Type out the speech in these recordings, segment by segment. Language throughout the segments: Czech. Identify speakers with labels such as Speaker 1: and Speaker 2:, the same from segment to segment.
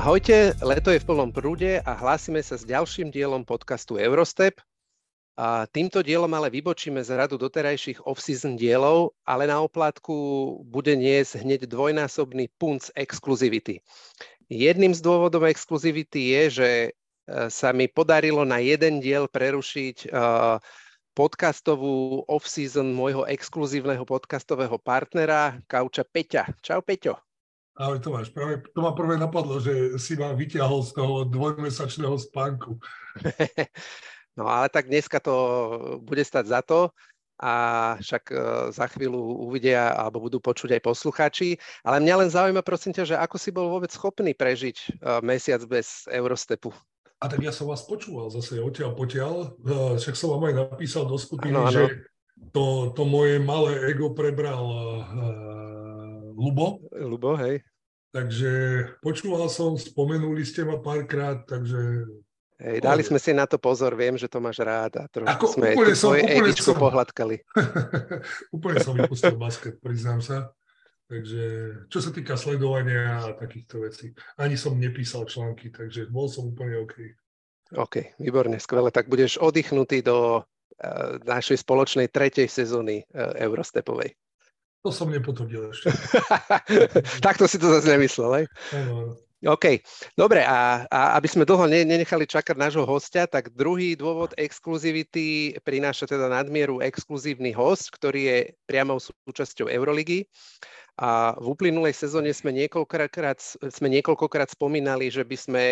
Speaker 1: Ahojte, leto je v plnom prúde a hlásime sa s ďalším dielom podcastu Eurostep. A týmto dielom ale vybočíme z radu doterajších off-season dielov, ale na oplátku bude niesť hneď dvojnásobný punc exkluzivity. Jedným z dôvodov exkluzivity je, že sa mi podarilo na jeden diel prerušiť podcastovú off-season môjho exkluzívneho podcastového partnera, kauča Peťa. Čau, Peťo.
Speaker 2: Ahoj Tomáš, práve to ma prvé napadlo, že si ma vyťahol z toho dvojmesačného spánku.
Speaker 1: No ale tak dneska to bude stať za to a však za chvíľu uvidia alebo budú počuť aj poslucháči. Ale mňa len zaujíma, prosím ťa, že ako si bol vôbec schopný prežiť mesiac bez Eurostepu?
Speaker 2: A tak ja som vás počúval zase odtiaľ potiaľ, však som vám aj napísal do skupiny,
Speaker 1: ano.
Speaker 2: Že to moje malé ego prebral Ľubo,
Speaker 1: hej.
Speaker 2: Takže počúval som, spomenuli ste ma párkrát, takže...
Speaker 1: Hej, dali sme si na to pozor, viem, že to máš rád a trošku sme tvoje egičko pohľadkali.
Speaker 2: Úplne som vypustil basket, priznám sa. Takže čo sa týka sledovania a takýchto vecí, ani som nepísal články, takže bol som úplne OK. OK,
Speaker 1: výborne, skvelé. Tak budeš oddychnutý do našej spoločnej tretej sezóny Eurostepovej.
Speaker 2: To som nepotvrdil ešte.
Speaker 1: Takto si to zase nemyslel, hej?
Speaker 2: Áno.
Speaker 1: OK, dobre, a aby sme dlho nenechali čakať nášho hostia, tak druhý dôvod exkluzivity prináša teda nadmieru exkluzívny host, ktorý je priamou súčasťou Euroligy. A v uplynulej sezóne sme niekoľkokrát spomínali, že by sme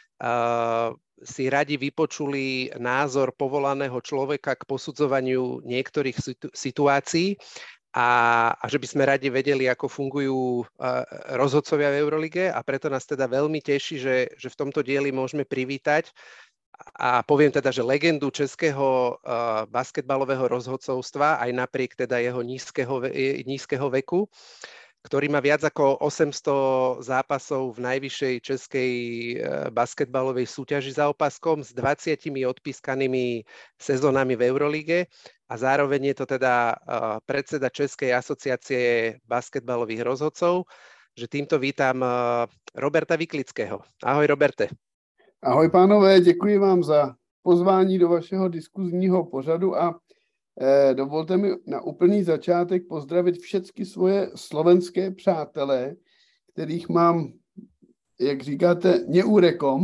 Speaker 1: si radi vypočuli názor povolaného človeka k posudzovaniu niektorých situácií. A že by sme radi vedeli, ako fungujú rozhodcovia v Eurolige a preto nás teda veľmi teší, že v tomto dieli môžeme privítať a poviem teda, že legendu českého basketbalového rozhodcovstva aj napriek teda jeho nízkeho veku, ktorý má viac ako 800 zápasov v najvyššej českej basketbalovej súťaži za opaskom s 20 odpískanými sezónami v Eurolige. A zároveň je to teda predseda Českej asociácie basketbalových rozhodcov, že týmto vítam Roberta Viklického. Ahoj, Roberte.
Speaker 3: Ahoj, pánové, děkuji vám za pozvání do vašeho diskuzního pořadu a dovolte mi na úplný začátek pozdravit všechny svoje slovenské přátelé, kterých mám, jak říkáte, neúrekom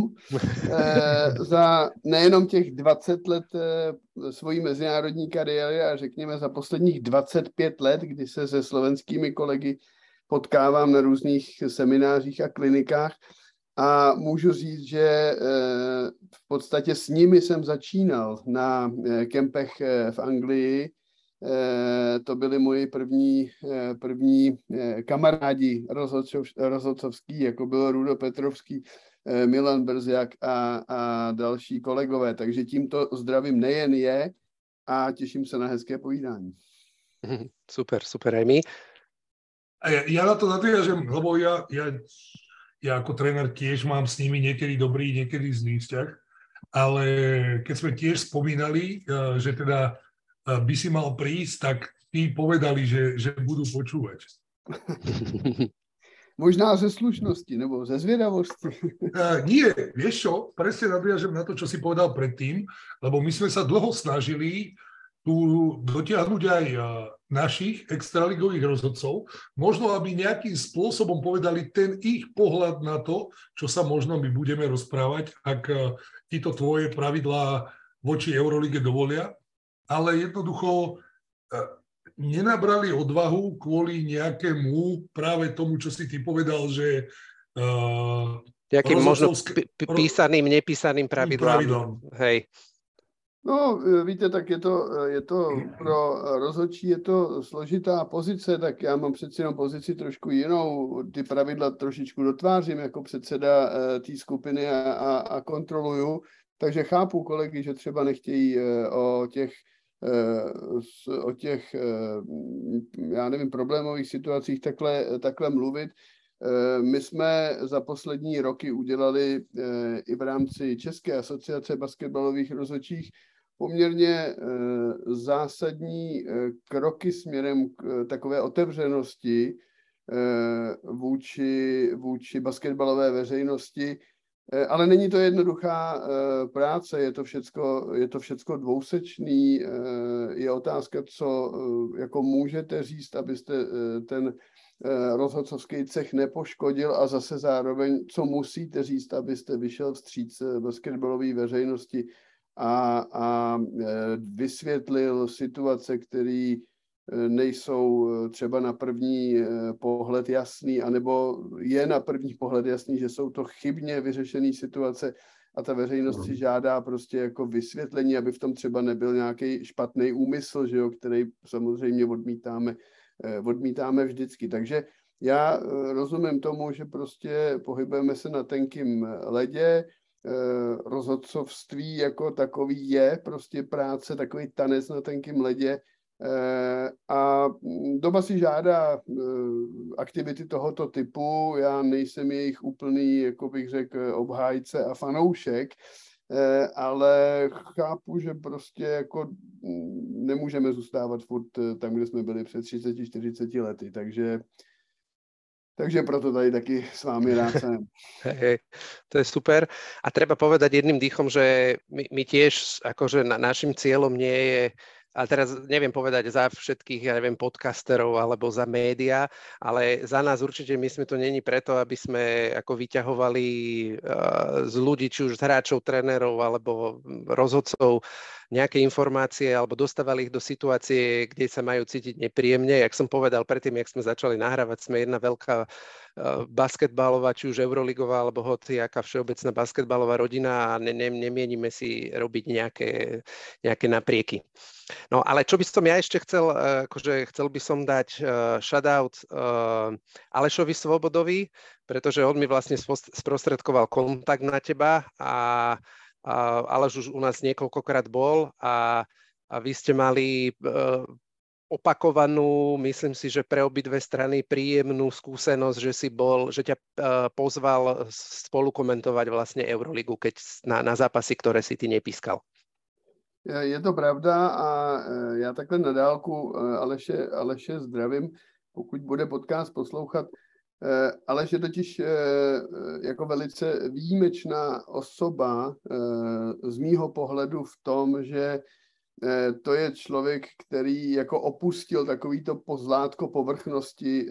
Speaker 3: za nejenom těch 20 let svojí mezinárodní kariéry a řekněme za posledních 25 let, kdy se se slovenskými kolegy potkávám na různých seminářích a klinikách a můžu říct, že v podstatě s nimi jsem začínal na kempech v Anglii. To byli moji první kamarádi rozhodcovský, jako byl Rudo Petrovský, Milan Brziak a další kolegové. Takže tímto zdravím nejen je a těším se na hezké povídání.
Speaker 1: Super, aj my.
Speaker 2: Ja na to nadviažem, lebo ja ako tréner tiež mám s nimi niekedy dobrý, niekedy zlý vzťah, ale keď sme tiež spomínali, že teda by si mal prísť, tak tí povedali, že budú počúvať.
Speaker 3: Možná ze slušnosti, nebo ze zvedavosti.
Speaker 2: Nie, vieš čo, presne nadviažem na to, čo si povedal predtým, lebo my sme sa dlho snažili tu dotiahnuť aj našich extraligových rozhodcov, možno aby nejakým spôsobom povedali ten ich pohľad na to, čo sa možno my budeme rozprávať, ak títo tvoje pravidlá voči Eurolige dovolia, ale jednoducho nenabrali odvahu kvôli nejakému práve tomu, čo si ty povedal, že
Speaker 1: nejakým možno písaným, nepísaným pravidlám. Hej.
Speaker 3: No, víte, tak je to pro rozhodčí je to složitá pozice, tak já mám přeci jenom pozici trošku jinou. Ty pravidla trošičku dotvářím jako předseda té skupiny a kontroluju. Takže chápu kolegy, že třeba nechtějí o těch já nevím, problémových situacích takhle mluvit. My jsme za poslední roky udělali i v rámci České asociace basketbalových rozhodčích poměrně zásadní kroky směrem k takové otevřenosti vůči basketbalové veřejnosti. Ale není to jednoduchá práce, je to všecko dvousečný. Je otázka, co jako můžete říct, abyste ten rozhodcovský cech nepoškodil, a zase zároveň, co musíte říct, abyste vyšel vstříc basketbalové veřejnosti a vysvětlil situace, které nejsou třeba na první pohled jasný, anebo je na první pohled jasný, že jsou to chybně vyřešené situace a ta veřejnost si žádá prostě jako vysvětlení, aby v tom třeba nebyl nějaký špatný úmysl, že jo, který samozřejmě odmítáme vždycky. Takže já rozumím tomu, že prostě pohybujeme se na tenkým ledě, rozhodcovství jako takový je prostě práce, takový tanec na tenkým ledě, a doba si žádá aktivity tohoto typu. Já nejsem jejich úplný, jako bych řekl, obhájce a fanoušek, ale chápu, že prostě jako nemůžeme zůstávat furt tam, kde jsme byli před 30-40 lety, takže proto tady taky s vámi rád jsem.
Speaker 1: Hej, to je super. A treba povedať jedným dýchom, že my tiež, akože našim cieľom nie je, a teraz neviem povedať za všetkých, ja neviem, podcasterov alebo za média, ale za nás určite my sme to není preto, aby sme ako vyťahovali z ľudí, či už z hráčov, trénerov alebo rozhodcov nejaké informácie alebo dostávali ich do situácie, kde sa majú cítiť nepríjemne. Jak som povedal predtým, jak sme začali nahrávať, sme jedna veľká basketbalová, či už euroligová alebo hociaká všeobecná basketbalová rodina a nemienime si robiť nejaké naprieky. No ale čo by som ja ešte chcel, akože chcel by som dať shoutout Alešovi Svobodovi, pretože on mi vlastne sprostredkoval kontakt na teba a Aleš už u nás niekoľkokrát bol a vy ste mali opakovanú, myslím si, že pre obidve strany príjemnú skúsenosť, že ťa pozval spolukomentovať vlastne Euroligu, keď na zápasy, ktoré si ty nepískal.
Speaker 3: Je to pravda a já takhle na dálku Aleše zdravím, pokud bude podcast poslouchat. Aleš je totiž jako velice výjimečná osoba z mýho pohledu v tom, že to je člověk, který jako opustil takovýto pozlátko povrchnosti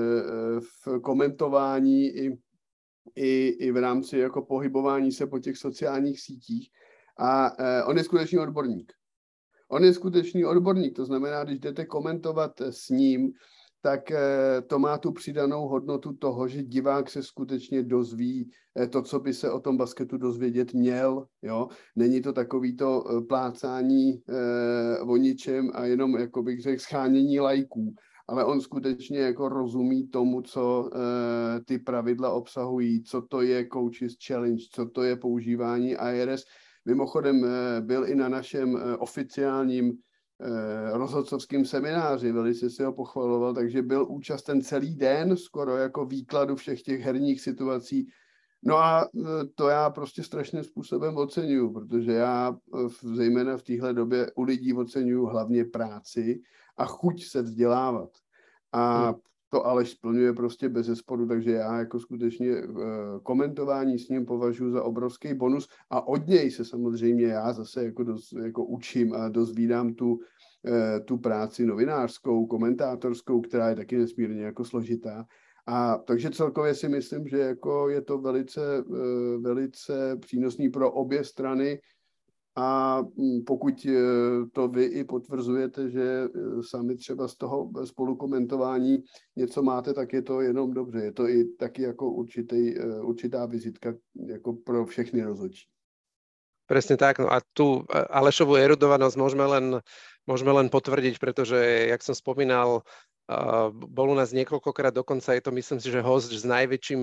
Speaker 3: v komentování i v rámci jako pohybování se po těch sociálních sítích. A on je skutečný odborník. To znamená, když jdete komentovat s ním, tak to má tu přidanou hodnotu toho, že divák se skutečně dozví to, co by se o tom basketu dozvědět měl. Jo? Není to takovýto plácání o ničem a jenom, jako bych řekl, schánění lajků, ale on skutečně jako rozumí tomu, co ty pravidla obsahují, co to je Coaches Challenge, co to je používání IRS. Mimochodem byl i na našem oficiálním rozhodcovským semináři, velice si ho pochvaloval, takže byl účasten celý den skoro jako výkladu všech těch herních situací. No a to já prostě strašným způsobem oceňuju, protože já zejména v téhle době u lidí oceňuju hlavně práci a chuť se vzdělávat. A to Aleš splňuje prostě bezesporu, takže já jako skutečně komentování s ním považuji za obrovský bonus a od něj se samozřejmě já zase jako učím a dozvídám tu práci novinářskou, komentátorskou, která je taky nesmírně jako složitá. A takže celkově si myslím, že jako je to velice přínosný pro obě strany. A pokud to vy i potvrzujete, že sami třeba z toho spolukomentování něco máte, tak je to jenom dobře. Je to i taky jako určitá vizitka jako pro všechny rozhodčí.
Speaker 1: Presne tak. No a tu Alešovú erudovanosť môžeme len potvrdiť, pretože, jak som spomínal, bol u nás niekoľkokrát, dokonca je to, myslím si, že host s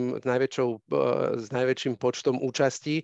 Speaker 1: najväčším počtom účastí.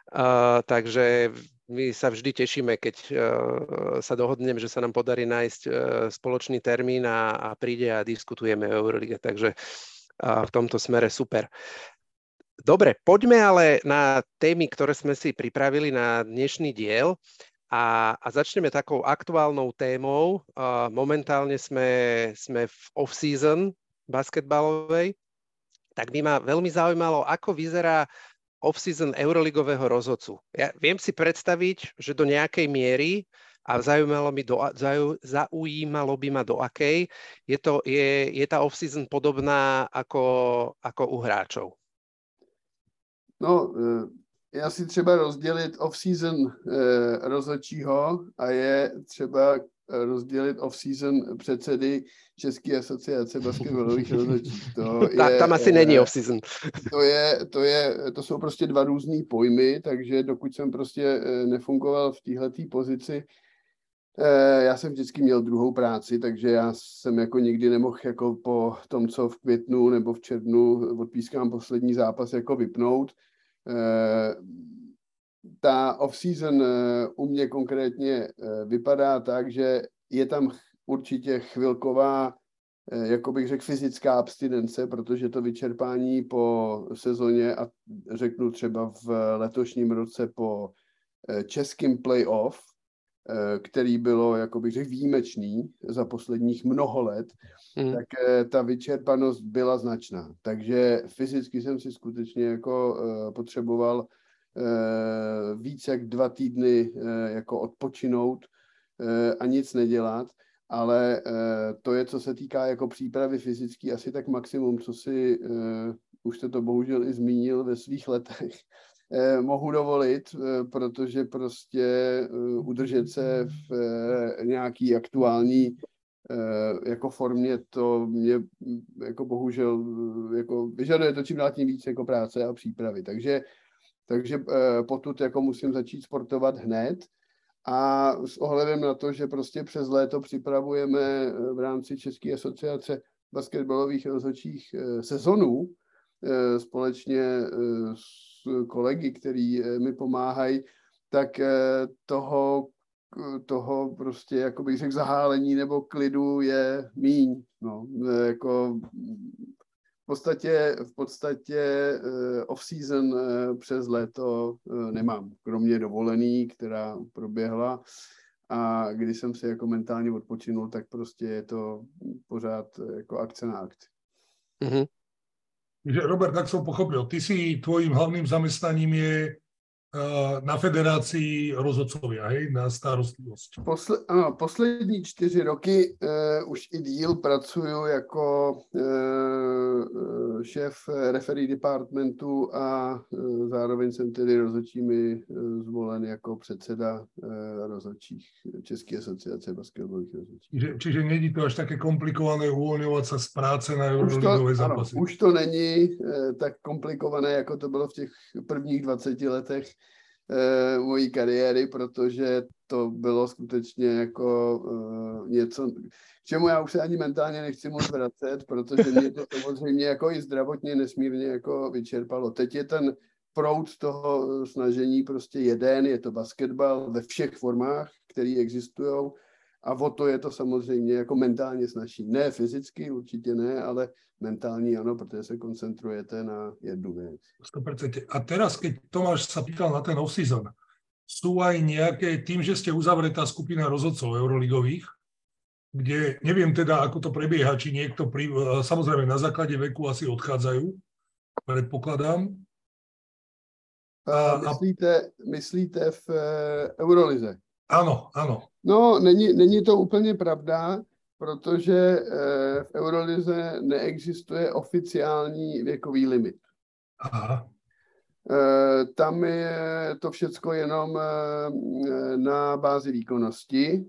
Speaker 1: Takže my sa vždy tešíme, keď sa dohodneme, že sa nám podarí nájsť spoločný termín a príde a diskutujeme o Eurolige. Takže v tomto smere super. Dobre, poďme ale na témy, ktoré sme si pripravili na dnešný diel a začneme takou aktuálnou témou. Momentálne sme v off-season basketbalovej, tak by ma veľmi zaujímalo, ako vyzerá off-season euroligového rozhodcu. Ja viem si predstaviť, že do nejakej miery, a zaujímalo by ma do akej, je tá off-season podobná ako u hráčov.
Speaker 3: No, já si třeba rozdělit off-season rozhodčího a je třeba rozdělit off-season předsedy České asociace basketbalových rozhodčích.
Speaker 1: Tam asi není off-season.
Speaker 3: To jsou prostě dva různý pojmy, takže dokud jsem prostě nefungoval v téhletý pozici, já jsem vždycky měl druhou práci, takže já jsem jako nikdy nemohl jako po tom, co v květnu nebo v červnu odpískám poslední zápas, jako vypnout. Ta off-season u mě konkrétně vypadá tak, že je tam určitě chvilková, jako bych řekl, fyzická abstinence, protože to vyčerpání po sezóně, a řeknu třeba v letošním roce po českým playoff, který bylo, jako bych řekl, výjimečný za posledních mnoho let, tak ta vyčerpanost byla značná. Takže fyzicky jsem si skutečně jako potřeboval víc jak 2 týdny jako odpočinout a nic nedělat, ale to je, co se týká jako přípravy fyzický, asi tak maximum, co si, už jste to bohužel i zmínil ve svých letech, mohu dovolit, protože prostě udržet se v nějaký aktuální jako formě, to mě jako bohužel jako vyžaduje to čím dál tím víc jako práce a přípravy. Takže potud jako musím začít sportovat hned a s ohledem na to, že prostě přes léto připravujeme v rámci České asociace basketbalových rozhodčích sezonu společně s kolegy, který mi pomáhají, tak toho prostě, jako bych řekl, zahálení nebo klidu je míň. No, jako v podstatě off-season přes léto nemám, kromě dovolený, která proběhla, a když jsem si jako mentálně odpočinul, tak prostě je to pořád jako akce na akci.
Speaker 1: Mm-hmm.
Speaker 2: Takže Robert, tak som pochopil, tvojím hlavným zamestnaním je na federácii rozhodcovia, hej, na starostlivosť.
Speaker 3: Poslední 4 roky už i díl pracuju jako šéf referee departmentu a zároveň jsem tedy rozhodčími zvolen jako předseda rozhodčích České asociace basketbalových rozhodčích.
Speaker 2: Čiže není to až také komplikované uvoľňovať sa z práce na euroligové zápasy?
Speaker 3: Už to není tak komplikované, jako to bylo v těch prvních 20 letech mojí kariéry, protože to bylo skutečně jako něco, k čemu já už se ani mentálně nechci moc vracet, protože mě to samozřejmě jako i zdravotně nesmírně jako vyčerpalo. Teď je ten proud toho snažení prostě jeden, je to basketbal ve všech formách, které existují, a o to je to samozřejmě jako mentálně snažší. Ne fyzicky, určitě ne, ale mentální ano, protože se koncentrujete na jednu věc.
Speaker 2: 100%. A teraz, keď Tomáš sa pýtal na ten off-season, sú aj nejaké, tým, že ste uzavretá skupina rozhodcov euroligových, kde neviem teda, ako to prebieha, či niekto, samozrejme na základe veku asi odchádzajú, predpokladám.
Speaker 3: Myslíte v Eurolize?
Speaker 2: Ano, ano.
Speaker 3: No, není to úplně pravda, protože v Eurolize neexistuje oficiální věkový limit.
Speaker 2: Aha.
Speaker 3: Tam je to všecko jenom na bázi výkonnosti,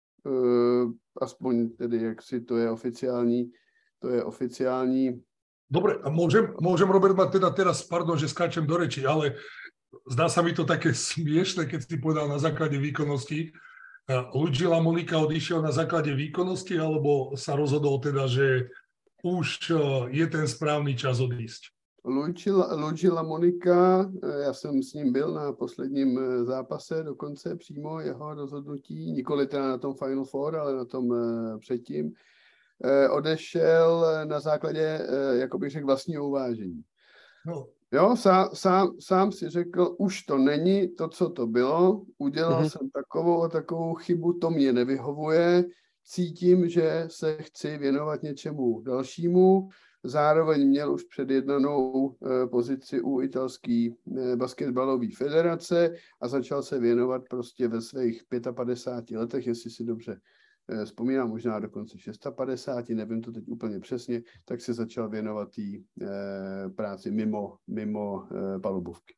Speaker 3: aspoň tedy, jak si to je oficiální.
Speaker 2: Dobre, a môžem Robert, mať teda teraz, pardon, že skáčem do reči, ale zdá sa mi to také smiešné, keď si povedal na základe výkonnosti. Luigi Lamonica odišiel na základe výkonnosti, alebo sa rozhodol teda, že už je ten správný čas odísť?
Speaker 3: Luigi Lamonica, já jsem s ním byl na posledním zápase, dokonce přímo jeho rozhodnutí, nikoli teda na tom Final Four, ale na tom předtím, odešel na základě, jako bych řekl, vlastního uvážení.
Speaker 2: No.
Speaker 3: Jo, sám si řekl, už to není to, co to bylo, udělal jsem takovou chybu, to mě nevyhovuje, cítím, že se chci věnovat něčemu dalšímu. Zároveň měl už předjednanou pozici u italské basketbalové federace a začal se věnovat prostě ve svých 55 letech, jestli si dobře vzpomínám, možná dokonce 56, nevím to teď úplně přesně, tak se začal věnovat té práci mimo palubovky.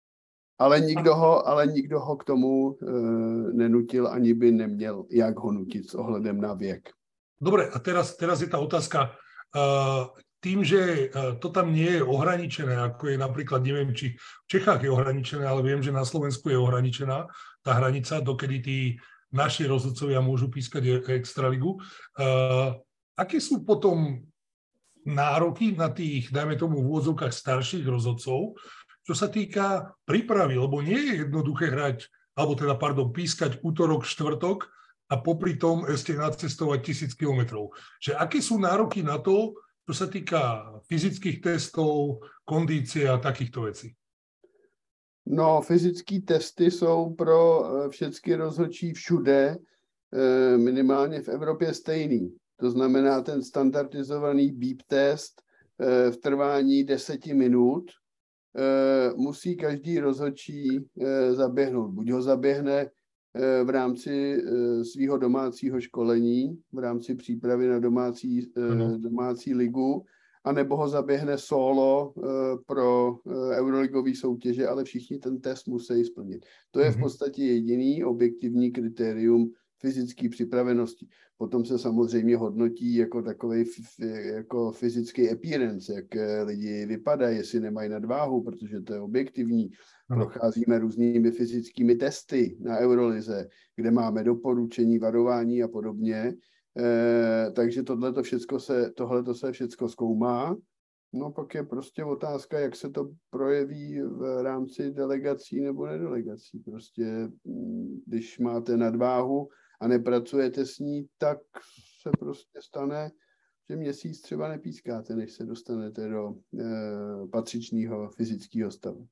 Speaker 3: Ale nikdo ho k tomu nenutil, ani by neměl, jak ho nutit s ohledem na věk.
Speaker 2: Dobre, a teraz je tá otázka. Tým, že to tam nie je ohraničené, ako je napríklad, neviem, či v Čechách je ohraničené, ale viem, že na Slovensku je ohraničená tá hranica, dokedy tí naši rozhodcovia môžu pískať extraligu. Aké sú potom nároky na tých, dajme tomu v úvodzovkách, starších rozhodcov, čo sa týka prípravy, lebo nie je jednoduché hrať, alebo teda, pískať útorok, štvrtok a popri tom ešte nacestovať 1000 kilometrov. Že aké sú nároky na to, čo sa týka fyzických testov, kondície a takýchto vecí?
Speaker 3: No, fyzické testy jsou pro všechny rozhodčí všude, minimálně v Evropě stejný. To znamená ten standardizovaný beep test v trvání 10 minut musí každý rozhodčí zaběhnout. Buď ho zaběhne v rámci svého domácího školení, v rámci přípravy na domácí ligu, anebo ho zaběhne solo pro euroligové soutěže, ale všichni ten test musí splnit. To je v podstatě jediný objektivní kritérium fyzické připravenosti. Potom se samozřejmě hodnotí jako takovej jako fyzický appearance, jak lidi vypadají, jestli nemají nadváhu, protože to je objektivní. Procházíme různými fyzickými testy na Eurolize, kde máme doporučení, varování a podobně. Takže tohleto se všecko zkoumá. No pak je prostě otázka, jak se to projeví v rámci delegací nebo nedelegací. Prostě když máte nadváhu a nepracujete s ní, tak se prostě stane, že měsíc třeba nepískáte, než se dostanete do patřičného fyzického stavu.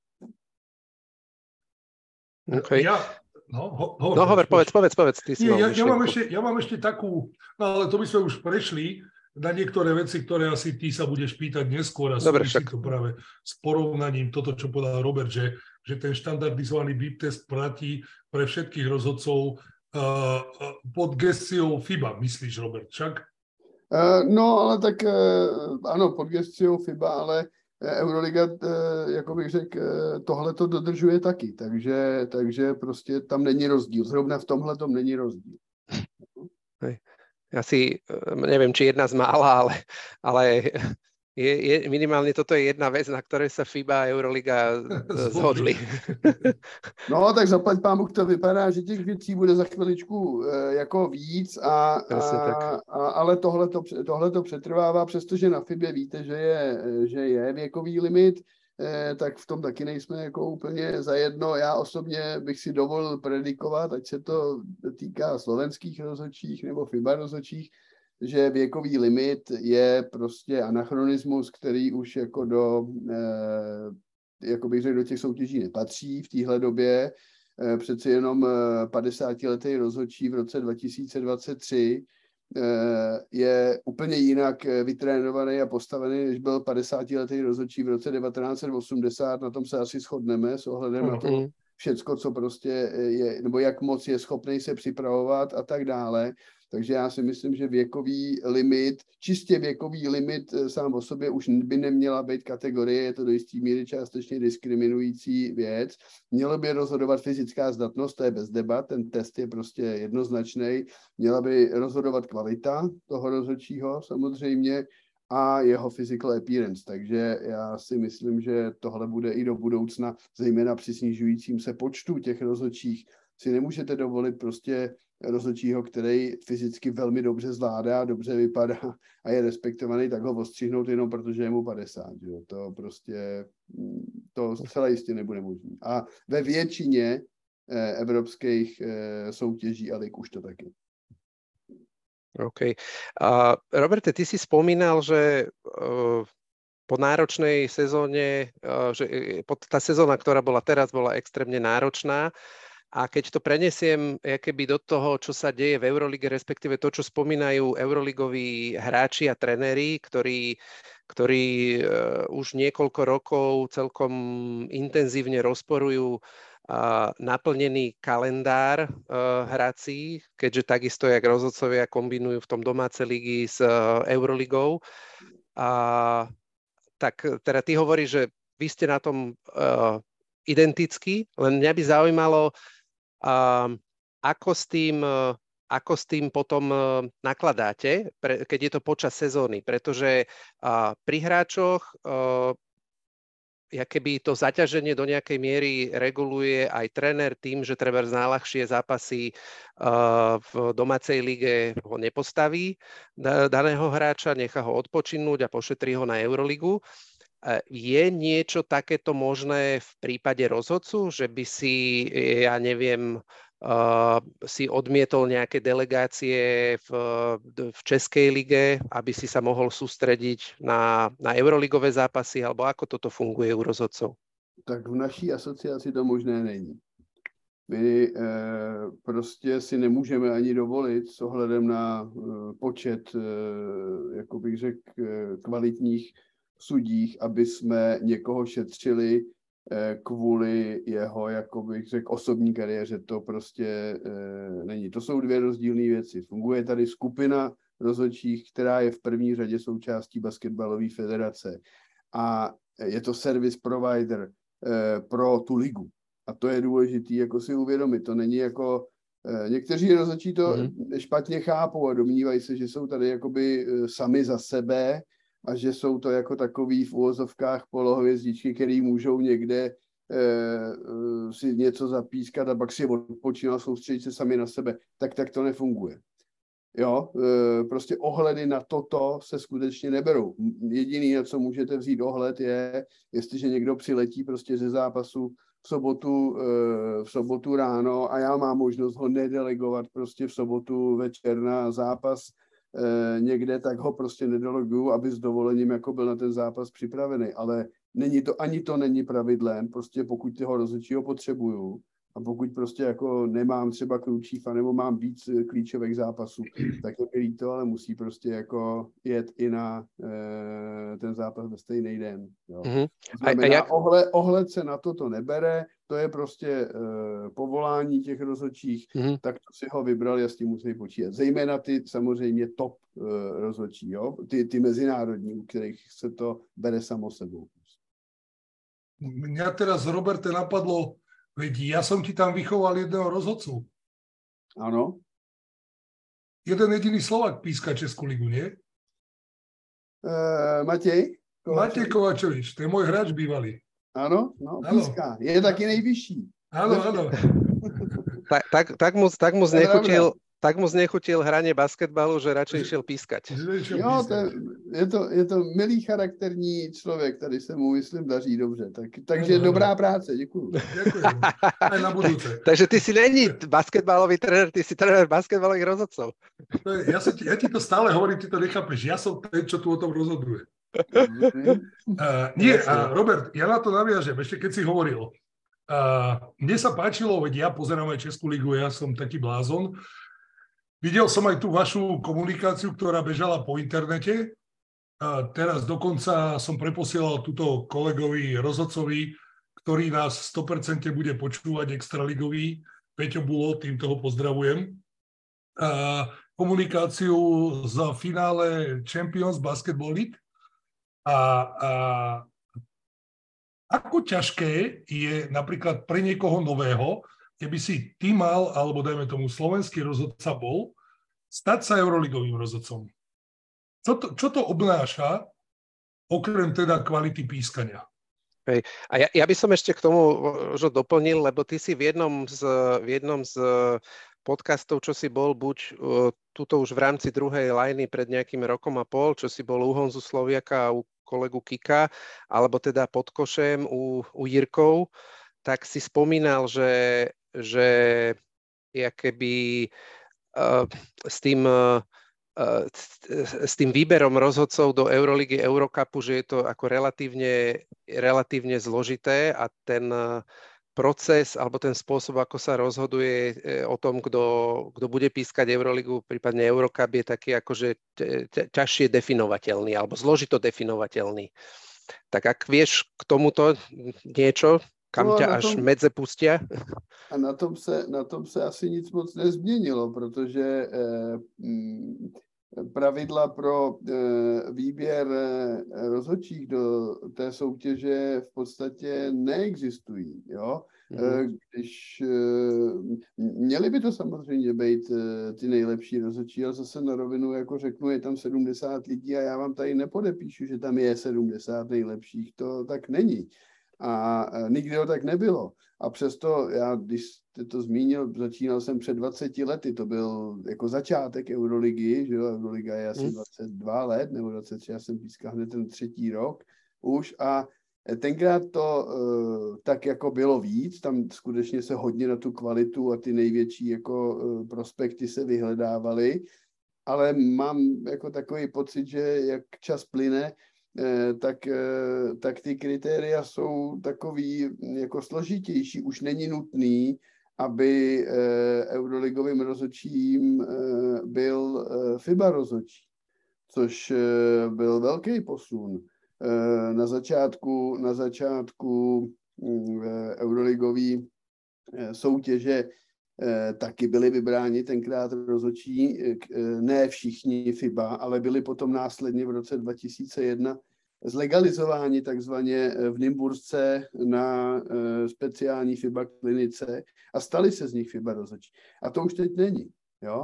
Speaker 1: Okay. Povedz, ty si mal
Speaker 2: ja mám ešte takú, no ale to by sme už prešli na niektoré veci, ktoré asi ty sa budeš pýtať neskôr a súvisí to práve s porovnaním toto, čo povedal Robert, že ten štandardizovaný beep test platí pre všetkých rozhodcov pod gestiou FIBA, myslíš, Robert, však?
Speaker 3: No, ale tak ano, pod gestiou FIBA, ale Euroliga, jako bych řekl, tohle to dodržuje taky, takže prostě tam není rozdíl. Zrovna v tomhle tom není rozdíl.
Speaker 1: Asi neviem, či jedna z mála, ale je minimálne toto je jedna vec, na ktorej sa FIBA a Euroliga zhodli.
Speaker 3: No, tak zaplať pámu, to vypadá, že těch věcí bude za chviličku jako víc, ale tohleto přetrvává, přestože na FIBě víte, že je věkový limit, tak v tom taky nejsme jako úplně zajedno. Já osobně bych si dovolil predikovat, ať se to týká slovenských rozhodčích nebo FIBA rozhodčích, že věkový limit je prostě anachronismus, který už jako jako bych řekl, do těch soutěží nepatří v téhle době. Přeci jenom 50-letý rozhodčí v roce 2023 je úplně jinak vytrénovaný a postavený, než byl 50-letý rozhodčí v roce 1980. Na tom se asi shodneme s ohledem na to všecko, co prostě je, nebo jak moc je schopný se připravovat a tak dále. Takže já si myslím, že čistě věkový limit sám o sobě už by neměla být kategorie, je to do jistý míry částečně diskriminující věc. Mělo by rozhodovat fyzická zdatnost, to je bez debat, ten test je prostě jednoznačný. Měla by rozhodovat kvalita toho rozhodčího samozřejmě a jeho physical appearance. Takže já si myslím, že tohle bude i do budoucna, zejména při snižujícím se počtu těch rozhodčích, si nemůžete dovolit prostě rozhodčího, který fyzicky velmi dobře zvládá, dobře vypadá a je respektovaný, tak ho ostřihnout jenom protože je mu 50. Jo? To prostě, to zcela jistě nebude možné. A ve většině evropských soutěží a lig už to taky.
Speaker 1: OK. Roberte, ty si spomínal, že po náročnej sezóne, že tá sezóna, ktorá bola teraz, bola extrémne náročná. A keď to prenesiem keby do toho, čo sa deje v Eurolige, respektíve to, čo spomínajú euroligoví hráči a trenéri, ktorí už niekoľko rokov celkom intenzívne rozporujú naplnený kalendár hrací, keďže takisto, jak rozhodcovia kombinujú v tom domáce ligy s Euroligou. Tak teda ty hovoríš, že vy ste na tom identickí, len mňa by zaujímalo, ako s tým potom nakladáte, keď je to počas sezóny, pretože pri hráčoch keby to zaťaženie do nejakej miery reguluje aj tréner tým, že treba z najľahšie zápasy v domácej lige ho nepostaví daného hráča, nechá ho odpočinúť a pošetrí ho na Euroligu. Je niečo takéto možné v prípade rozhodcu, že by si, ja neviem, si odmietol nejaké delegácie v Českej lige, aby si sa mohol sústrediť na euroligové zápasy, alebo ako toto funguje u rozhodcov?
Speaker 3: Tak v naší asociaci to možné není. My prostě si nemůžeme ani dovolit s ohledem na počet, jako bych řekl, kvalitních sudích, aby jsme někoho šetřili kvůli jeho, jako bych řekl, osobní kariéře. To prostě není. To jsou dvě rozdílné věci. Funguje tady skupina rozhodčích, která je v první řadě součástí basketbalové federace a je to service provider pro tu ligu. A to je důležité jako si uvědomit. To není jako někteří rozhodčí to špatně chápou a domnívají se, že jsou tady jakoby sami za sebe a že jsou to jako takový v uvozovkách polohvězdičky, který můžou někde si něco zapískat a pak si odpočinout a soustředit se sami na sebe. Tak to nefunguje. Jo, prostě ohledy na toto se skutečně neberou. Jediný, na co můžete vzít ohled, je, jestliže někdo přiletí prostě ze zápasu v sobotu ráno a já mám možnost ho nedelegovat prostě v sobotu večer na zápas někde, tak ho prostě nedeleguju, aby s dovolením jako byl na ten zápas připravený. Ale ani to není pravidlem, prostě pokud toho rozhodčího potřebuju a pokud prostě jako nemám třeba Krůčífa nebo mám víc klíčových zápasů, tak je mi líto, ale musí prostě jako jet i na ten zápas ve stejný den. Jo. Znamená, ohled se na to nebere, to je prostě povolání těch rozhodčích, tak to si ho vybral, já s tím musí počítat. Zejména ty samozřejmě top rozhodčí, jo? Ty mezinárodní, u kterých se to bere samo sebou.
Speaker 2: Mňa teraz, Roberte, napadlo, veď ja som ti tam vychoval jedného rozhodcu.
Speaker 3: Áno.
Speaker 2: Jeden jediný Slovák píska Českú ligu, nie?
Speaker 3: Matej Kovačovič.
Speaker 2: Matej Kovačovič, to je môj hráč bývalý.
Speaker 3: Áno, píska. Je taky nejvyšší.
Speaker 2: Áno.
Speaker 1: Tak mu znechutil hranie basketbalu, že radšej išiel pískať.
Speaker 3: Jo, je to milý charakterní člověk, tady se mu, myslím, daří dobře. Takže dobrá práce, děkuju.
Speaker 2: Ďakujem. Aj na budúce.
Speaker 1: Takže ty si není basketbalový tréner, ty si tréner basketbalových rozhodcov.
Speaker 2: Ja ti to stále hovorím, ty to nechápeš. Ja som ten, čo tu o tom rozhoduje. Nie, Robert, ja na to naviažem, ešte keď si hovoril. Mne sa páčilo, veď ja pozerám aj Českú ligu, ja som taký blázon. Videl som aj tú vašu komunikáciu, ktorá bežala po internete. Teraz dokonca som preposielal túto kolegovi rozhodcovi, ktorý nás 100% bude počúvať, extraligový, Peťo Bulo, týmto ho pozdravujem. Komunikáciu za finále Champions Basketball League. Ako ťažké je napríklad pre niekoho nového, keby si ty mal, alebo dajme tomu slovenský rozhodca bol, stať sa euroligovým rozhodcom. Čo to obnáša, okrem teda kvality pískania?
Speaker 1: Hej. A ja by som ešte k tomu doplnil, lebo ty si v jednom z podcastov, čo si bol buď tuto už v rámci druhej lajny pred nejakým rokom a pol, čo si bol u Honzu Sloviaka a u kolegu Kika, alebo teda pod košem u Jirkov, tak si spomínal, že keby s tým výberom rozhodcov do Euroligy, Eurocupu, že je to ako relatívne zložité a ten proces alebo ten spôsob, ako sa rozhoduje o tom, kto bude pískať Euroligu, prípadne Eurocup, je taký akože ťažšie definovateľný alebo zložito definovateľný. Tak ak vieš k tomuto niečo, kam ťa až medze pustia?
Speaker 3: A na tom se asi nic moc nezměnilo, protože pravidla pro výběr rozhodčích do té soutěže v podstatě neexistují. Jo? Když měli by to samozřejmě být ty nejlepší rozhodčí, ale zase na rovinu jako řeknu, je tam 70 lidí a já vám tady nepodepíšu, že tam je 70 nejlepších, to tak není. A nikdy to tak nebylo. A přesto já, když jste to zmínil, začínal jsem před 20 lety, to byl jako začátek Euroligy, že jo, Euroliga je asi 22 let, nebo 23, já jsem pískal hned ten 3. rok už a tenkrát to tak jako bylo víc, tam skutečně se hodně na tu kvalitu a ty největší jako prospekty se vyhledávaly, ale mám jako takový pocit, že jak čas plyne, tak ty kritéria jsou takový jako složitější. Už není nutný, aby euroligovým rozhodčím byl FIBA rozhodčí, což byl velký posun. Na začátku euroligové soutěže taky byli vybráni tenkrát rozhodčí, ne všichni FIBA, ale byli potom následně v roce 2001 zlegalizováni takzvaně v Nymbursce na speciální FIBA klinice a stali se z nich FIBA rozhodčí. A to už teď není. Jo?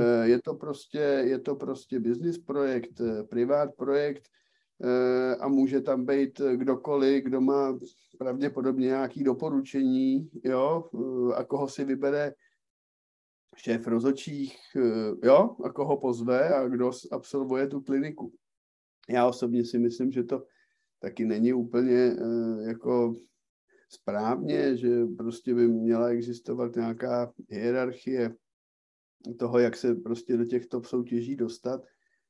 Speaker 3: Je to prostě business projekt, privát projekt a může tam být kdokoliv, kdo má pravděpodobně nějaké doporučení, jo, a koho si vybere šéf rozhodčích, jo, a koho pozve a kdo absolvuje tu kliniku. Já osobně si myslím, že to taky není úplně jako správně, že prostě by měla existovat nějaká hierarchie toho, jak se prostě do těch top soutěží dostat,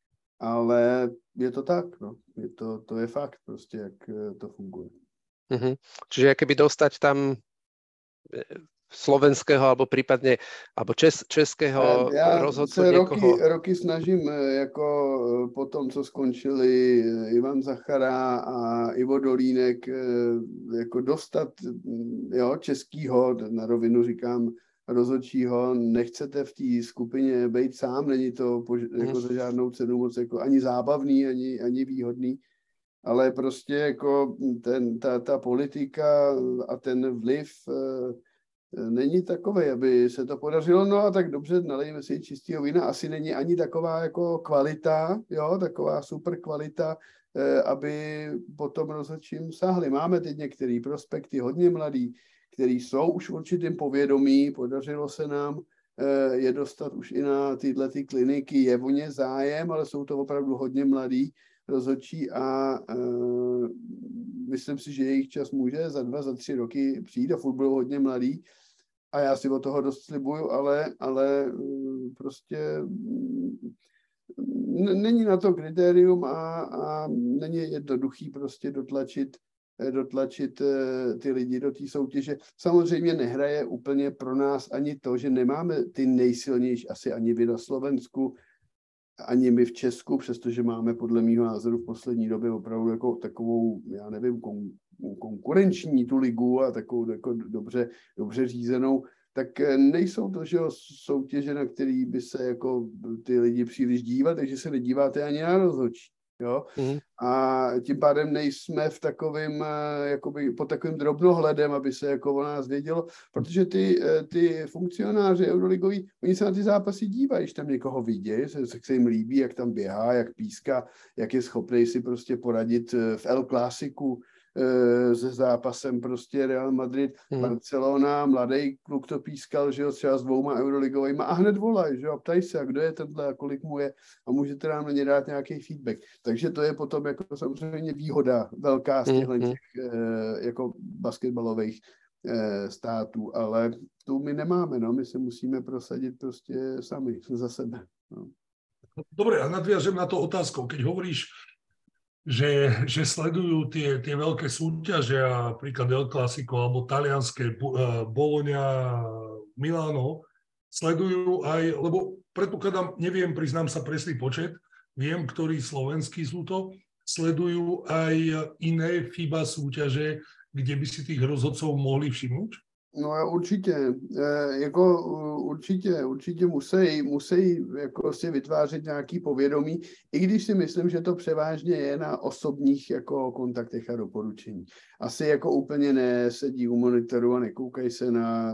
Speaker 3: ale je to tak, no. To je fakt prostě, jak to funguje.
Speaker 1: Čiže keby dostať tam slovenského alebo prípadne alebo českého rozhodcu niekoho.
Speaker 3: Já se roky snažím jako po tom, co skončili Ivan Zachara a Ivo Dolínek, jako dostat českýho, na rovinu říkám, rozhodčího, nechcete v té skupině být sám, není to jako za žádnou cenu moc jako ani zábavný, ani výhodný, ale prostě jako ta politika a ten vliv není takový, aby se to podařilo, no a tak dobře, nalejme si čistého vína, asi není ani taková jako kvalita, jo, taková super kvalita, aby potom rozhodčím sáhli. Máme teď některé prospekty, hodně mladý, který jsou už v určitém povědomí, podařilo se nám je dostat už i na tyhle ty kliniky, je o ně zájem, ale jsou to opravdu hodně mladí rozhodčí a myslím si, že jejich čas může za 2, za 3 roky přijít a furt budou hodně mladí a já si od toho dost slibuju, ale prostě není na to kritérium a není jednoduchý prostě dotlačit ty lidi do té soutěže. Samozřejmě nehraje úplně pro nás ani to, že nemáme ty nejsilnější, asi ani vy na Slovensku, ani my v Česku, přestože máme podle mýho názoru v poslední době opravdu jako takovou, já nevím, konkurenční tu ligu a takovou jako dobře řízenou, tak nejsou to, že soutěže, na který by se jako ty lidi příliš dívat, takže se nedíváte ani na rozhodčí. Jo? A tím pádem nejsme v takovým, jakoby pod takovým drobnohledem, aby se jako o nás vědělo, protože ty funkcionáři euroligoví, oni se na ty zápasy dívají, když tam někoho vidějí, se jim líbí, jak tam běhá, jak píská, jak je schopný si prostě poradit v El Clásiku se zápasem prostě Real Madrid, Barcelona, mladý kluk to pískal, že jo, třeba s 2 euroligovými a hned volají, že jo, ptají se, a kdo je tenhle a kolik mu je a můžete nám na ně dát nějaký feedback. Takže to je potom jako samozřejmě výhoda velká z těch jako basketbalových států, ale tu my nemáme, no, my se musíme prosadit prostě sami za sebe. No.
Speaker 2: Dobre, a nadviažem na to otázkou, keď hovoríš, že sledujú tie veľké súťaže, napríklad El Clasico alebo talianské Bologna, Milano, sledujú aj, lebo predpokladám, neviem, priznám sa presný počet, viem, ktorí slovenskí sú to, sledujú aj iné FIBA súťaže, kde by si tých rozhodcov mohli všimnúť?
Speaker 3: No určitě, určitě musí jako si vytvářet nějaký povědomí, i když si myslím, že to převážně je na osobních jako kontaktech a doporučení. Asi jako úplně nesedí u monitoru a nekoukají se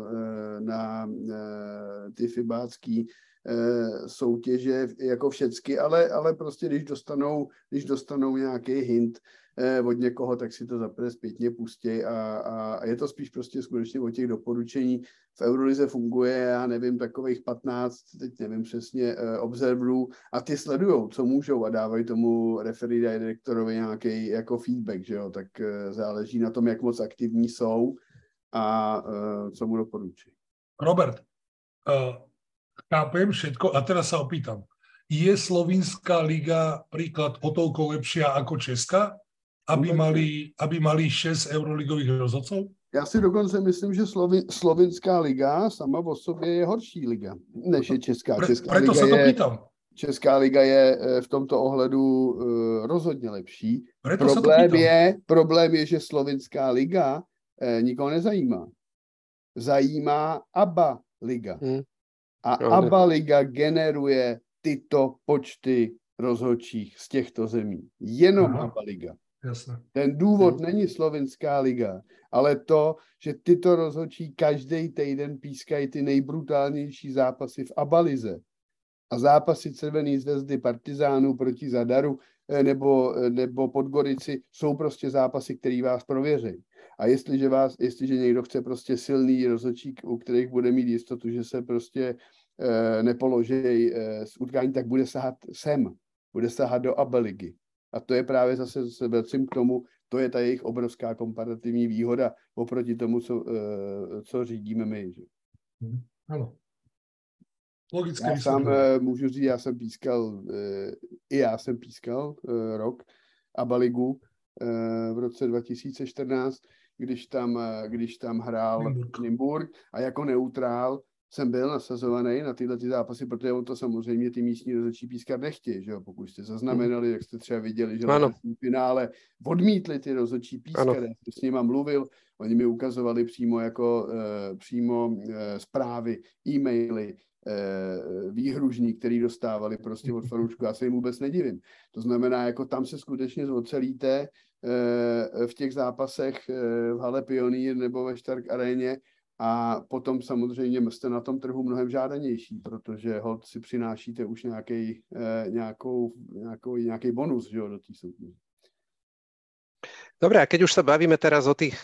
Speaker 3: na ty fibácký soutěže jako všecky, ale prostě když dostanou nějaký hint od někoho, tak si to zaprvé zpětně pustí a je to spíš prostě skutečně o těch doporučení. V Eurolize funguje, já nevím, takových 15, teď nevím přesně, observerů a ty sledujou, co můžou a dávají tomu referee direktorovi nějaký jako feedback, že jo, tak záleží na tom, jak moc aktivní jsou a co mu doporučí.
Speaker 2: Robert, chápem všetko a teraz sa opýtam. Je Slovinská liga príklad o toľko lepšia ako Česká, aby mali 6 euroligových rozhodcov?
Speaker 3: Já si dokonce myslím, že Slovinská liga sama o sobě je horší liga, než je Česká.
Speaker 2: Preto sa to pýtam.
Speaker 3: Česká liga je v tomto ohledu rozhodně lepší. Problém je, že Slovinská liga nikoho nezajímá. Zajímá ABA liga. A ABA liga generuje tyto počty rozhodčích z těchto zemí. Jenom ABA liga.
Speaker 2: Jasne.
Speaker 3: Ten důvod není Slovinská liga, ale to, že tyto rozhodčí každý týden pískají ty nejbrutálnější zápasy v ABA-lize. A zápasy Červené zvezdy Partizánů proti Zadaru nebo Podgorici jsou prostě zápasy, které vás prověří. A jestliže někdo chce prostě silný rozhodčí, u kterých bude mít jistotu, že se prostě nepoloží z utkání, tak bude sahat sem. Bude sahat do ABA ligy. A to je právě zase se vracím k tomu, to je ta jejich obrovská komparativní výhoda oproti tomu, co řídíme my. Že?
Speaker 2: Ano. Logické
Speaker 3: já sám můžu říct, já jsem pískal rok ABA ligu v roce 2014, když tam hrál Nymburk a jako neutrál jsem byl nasazovaný na tyhle zápasy, protože on to samozřejmě ty místní rozhodčí pískat nechtějí, že jo, pokud jste zaznamenali, jak jste třeba viděli, že v finále odmítli ty rozhodčí pískat, já jsem s nima mluvil, oni mi ukazovali přímo zprávy, e-maily, výhružní, který dostávali prostě od fanoušků, já se jim vůbec nedivím. To znamená, jako tam se skutečně zocelíte v těch zápasech v hale Pionýr nebo ve Stark aréně a potom samozřejmě jste na tom trhu mnohem žádanější, protože hod si přinášíte už nějaký bonus, že jo, do té soutěže.
Speaker 1: Dobre, a keď už sa bavíme teraz o tých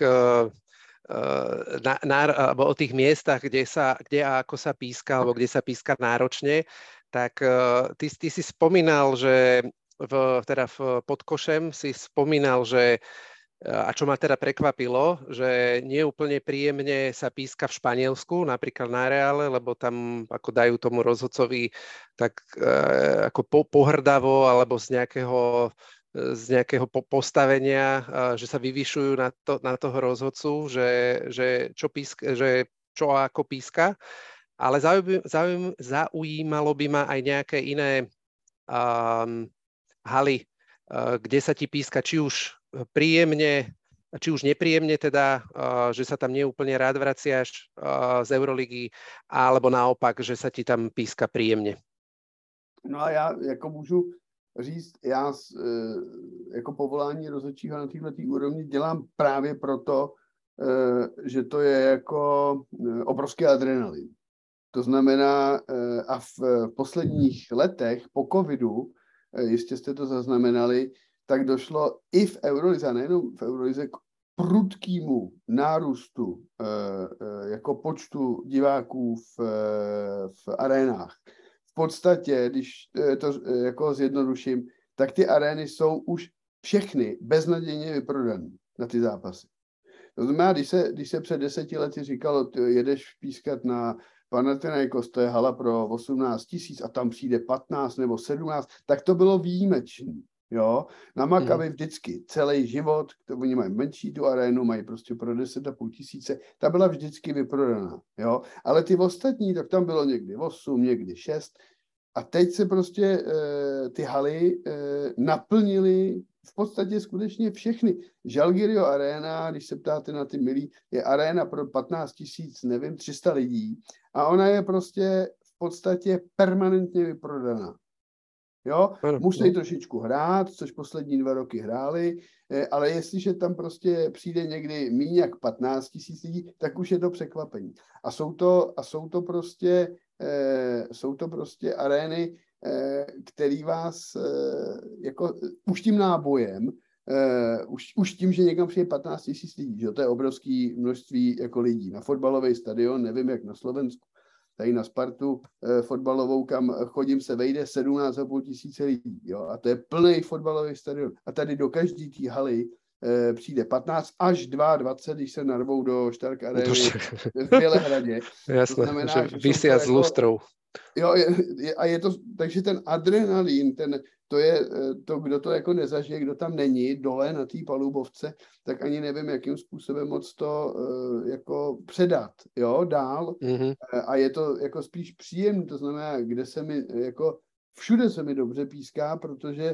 Speaker 1: o tých miestach, kde a ako sa píska, alebo kde sa píska náročne, tak ty si spomínal, že pod košem si spomínal, že a čo ma teda prekvapilo, že nie úplne príjemne sa píska v Španielsku, napríklad na Reále, lebo tam ako dajú tomu rozhodcovi tak ako pohrdavo alebo z nejakého postavenia, že sa vyvyšujú na toho rozhodcu, že čo ako píska. Ale zaujímalo by ma aj nejaké iné haly, kde sa ti píska či už príjemne, či už nepríjemne teda, že sa tam neúplne rád vraciaš z Euroligy, alebo naopak, že sa ti tam píska príjemne.
Speaker 3: No a já jako můžu říct, já jako povolání rozhodčího na této úrovni dělám právě proto, že to je jako obrovský adrenalin. To znamená, a v posledních letech po covidu, jistě jste to zaznamenali, tak došlo i v Eurolize, a nejenom v Eurolize, k prudkému nárůstu jako počtu diváků v arénách. V podstatě, když to jako zjednoduším, tak ty arény jsou už všechny beznadějně vyprodané na ty zápasy. To znamená, když se před 10 lety říkalo, jedeš pískat na Panathinaikos, to je hala pro 18 000 a tam přijde 15 nebo 17, tak to bylo výjimečné. Jo, na Maccabi vždycky celý život, oni mají menší tu arénu, mají prostě pro 10,5 tisíce, ta byla vždycky vyprodaná, jo, ale ty ostatní, tak tam bylo někdy 8, někdy 6 a teď se prostě ty haly naplnily v podstatě skutečně všechny. Žalgirio Arena, když se ptáte na ty milí, je aréna pro 15 tisíc, nevím, 300 lidí a ona je prostě v podstatě permanentně vyprodaná. Jo, musí trošičku hrát, což poslední 2 roky hráli, ale jestliže tam prostě přijde někdy méně jak 15 tisíc lidí, tak už je to překvapení. A jsou to prostě arény, který vás jako už tím nábojem, už tím, že někam přijde 15 tisíc lidí, že to je obrovské množství jako lidí. Na fotbalový stadion, nevím jak na Slovensku, tady na Spartu fotbalovou, kam chodím, se vejde 17,5 tisíce lidí. Jo? A to je plný fotbalový stadion. A tady do každé té haly přijde 15 až 22, když se narvou do Stark Areny v Bělehradě.
Speaker 1: Jasné, to znamená, že vysia s lustrou.
Speaker 3: Jo, a je to, takže ten adrenalín, to je to, kdo to jako nezažije, kdo tam není dole na té palubovce, tak ani nevím, jakým způsobem moc to jako předat, jo, dál. A je to jako spíš příjemný, to znamená, kde se mi jako všude se mi dobře píská, protože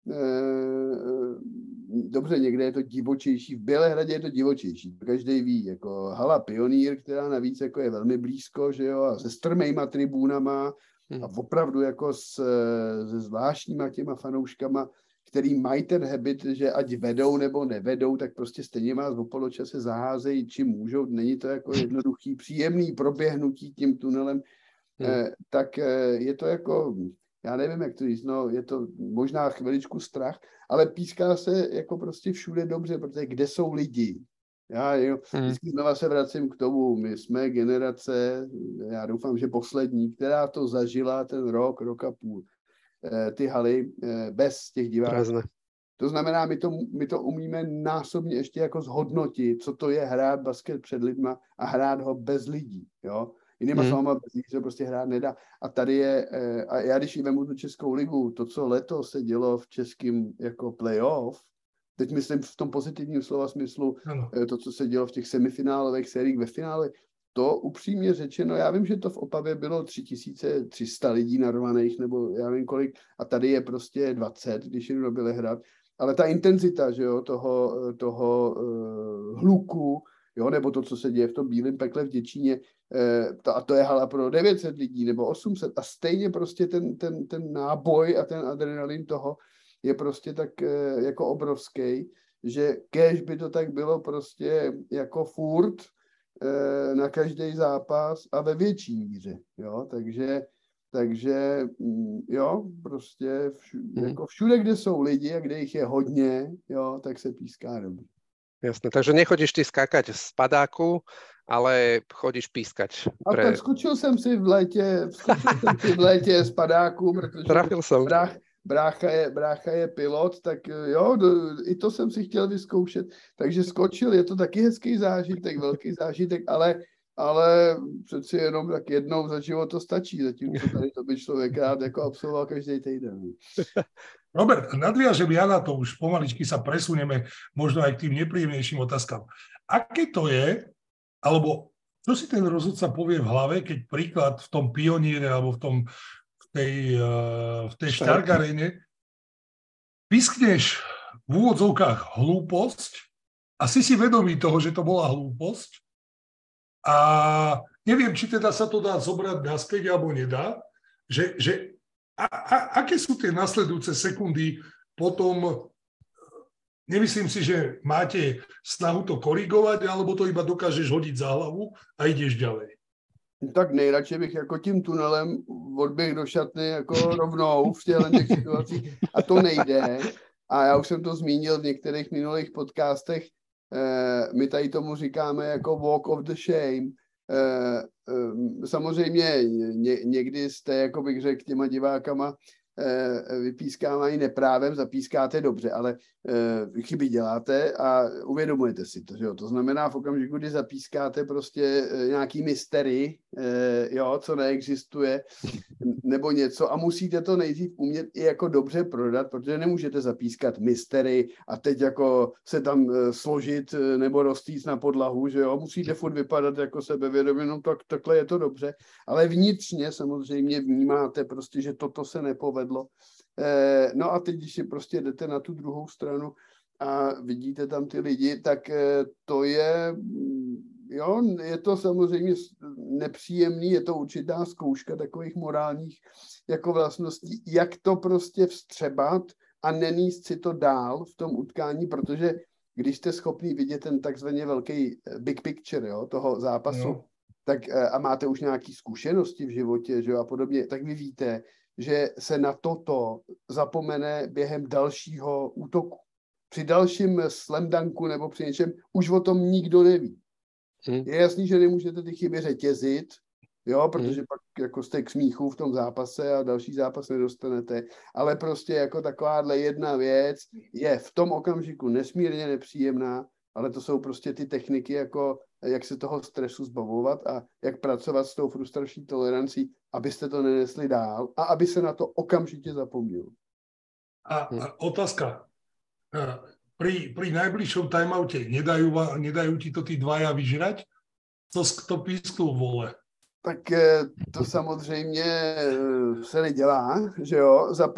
Speaker 3: dobře, někde je to divočejší, v Bělehradě je to divočejší, každý ví, jako hala Pionýr, která navíc jako je velmi blízko, že jo, a se strmejma tribúnama a opravdu jako se zvláštníma těma fanouškama, který mají ten habit, že ať vedou nebo nevedou, tak prostě stejně vás o poločase zaházejí, čím můžou, není to jako jednoduchý, příjemný proběhnutí tím tunelem, tak je to jako, já nevím, jak to říct, no, je to možná chviličku strach, ale píská se jako prostě všude dobře, protože kde jsou lidi? Já vždycky znova se vracím k tomu, my jsme generace, já doufám, že poslední, která to zažila ten rok a půl, ty haly bez těch diváků. To znamená, my to umíme násobně ještě jako zhodnotit, co to je hrát basket před lidma a hrát ho bez lidí, jo. Jinýma slovama, bez lidí se prostě hrát nedá. A tady je, a já když vemu tu Českou ligu, to, co letos se dělo v českém jako playoff, teď myslím v tom pozitivním slova smyslu, to, co se dělo v těch semifinálových sériích ve finále, to upřímně řečeno, já vím, že to v Opavě bylo 3300 lidí narvaných, nebo já nevím kolik, a tady je prostě 20, když jdu do Bělehrad, ale ta intenzita, že jo, toho hluku, jo, nebo to, co se děje v tom Bílém pekle v Děčíně, a to je hala pro 900 lidí nebo 800 a stejně prostě ten náboj a ten adrenalin toho je prostě tak jako obrovský, že kéž by to tak bylo prostě jako furt na každý zápas a ve větší míře, jo, takže jo, prostě jako všude, kde jsou lidi a kde jich je hodně, jo, tak se píská dobře.
Speaker 1: Jasné, takže nechodíš ty skákať z padáku, ale chodíš pískať.
Speaker 3: A tak skočil jsem si v létě z padáku, protože
Speaker 1: trafil jsem.
Speaker 3: Brácha je pilot, tak jo, i to jsem si chtěl vyzkoušet, takže skočil, je to taky hezký zážitek, velký zážitek, ale přeci jenom tak jednou za život to stačí, zatímco tady to by člověk rád jako absolvoval každý týden.
Speaker 2: Robert, nadviažem ja na to, už pomaličky sa presunieme možno aj k tým nepríjemnejším otázkam. Aké to je, alebo čo si ten rozhodca povie v hlave, keď príklad v tom Pioníre alebo v tej Stark Arene pískneš v úvodzovkách hlúposť a si vedomý toho, že to bola hlúposť a neviem, či teda sa to dá zobrať naspäť alebo nedá, že aké sú tie nasledujúce sekundy potom, nemyslím si, že máte snahu to korigovať, alebo to iba dokážeš hodiť za hlavu a ideš ďalej?
Speaker 3: Tak nejradši bych jako tím tunelem odběh do šatny jako rovnou v těch situacích a to nejde. A já už jsem to zmínil v některých minulých podcastech, my tady tomu říkáme jako walk of the shame. Samozřejmě někdy jste, jako bych řekl, těma divákama vypískávání neprávem, zapískáte dobře, ale chyby děláte a uvědomujete si to. Že jo? To znamená v okamžiku, kdy zapískáte prostě nějaký mystery, jo, co neexistuje, nebo něco a musíte to nejdřív umět i jako dobře prodat, protože nemůžete zapískat mystery a teď jako se tam složit nebo rozstýct na podlahu, že jo, musíte furt vypadat jako sebevědomě, no takhle je to dobře, ale vnitřně samozřejmě vnímáte prostě, že toto se nepovedlo. No a teď, když si prostě jdete na tu druhou stranu a vidíte tam ty lidi, tak to je... Jo, je to samozřejmě nepříjemný, je to určitá zkouška takových morálních jako vlastností, jak to prostě vstřebat a nenést si to dál v tom utkání, protože když jste schopný vidět ten takzvaně velký big picture, jo, toho zápasu, no. Tak a máte už nějaké zkušenosti v životě, že jo, a podobně, tak vy víte, že se na toto zapomene během dalšího útoku. Při dalším slam dunku nebo při něčem už o tom nikdo neví. Je jasný, že nemůžete ty chyby řetězit, jo, protože pak jako jste k smíchu v tom zápase a další zápas nedostanete, ale prostě jako takováhle jedna věc je v tom okamžiku nesmírně nepříjemná, ale to jsou prostě ty techniky, jako jak se toho stresu zbavovat a jak pracovat s tou frustrační tolerancí, abyste to nenesli dál a aby se na to okamžitě zapomnělo.
Speaker 2: A otázka. Pri najbližšom timeoute nedajú ti to tí dvaja vyžrať? To písknul vole.
Speaker 3: Tak to samozřejmě se nedělá, že jo. Za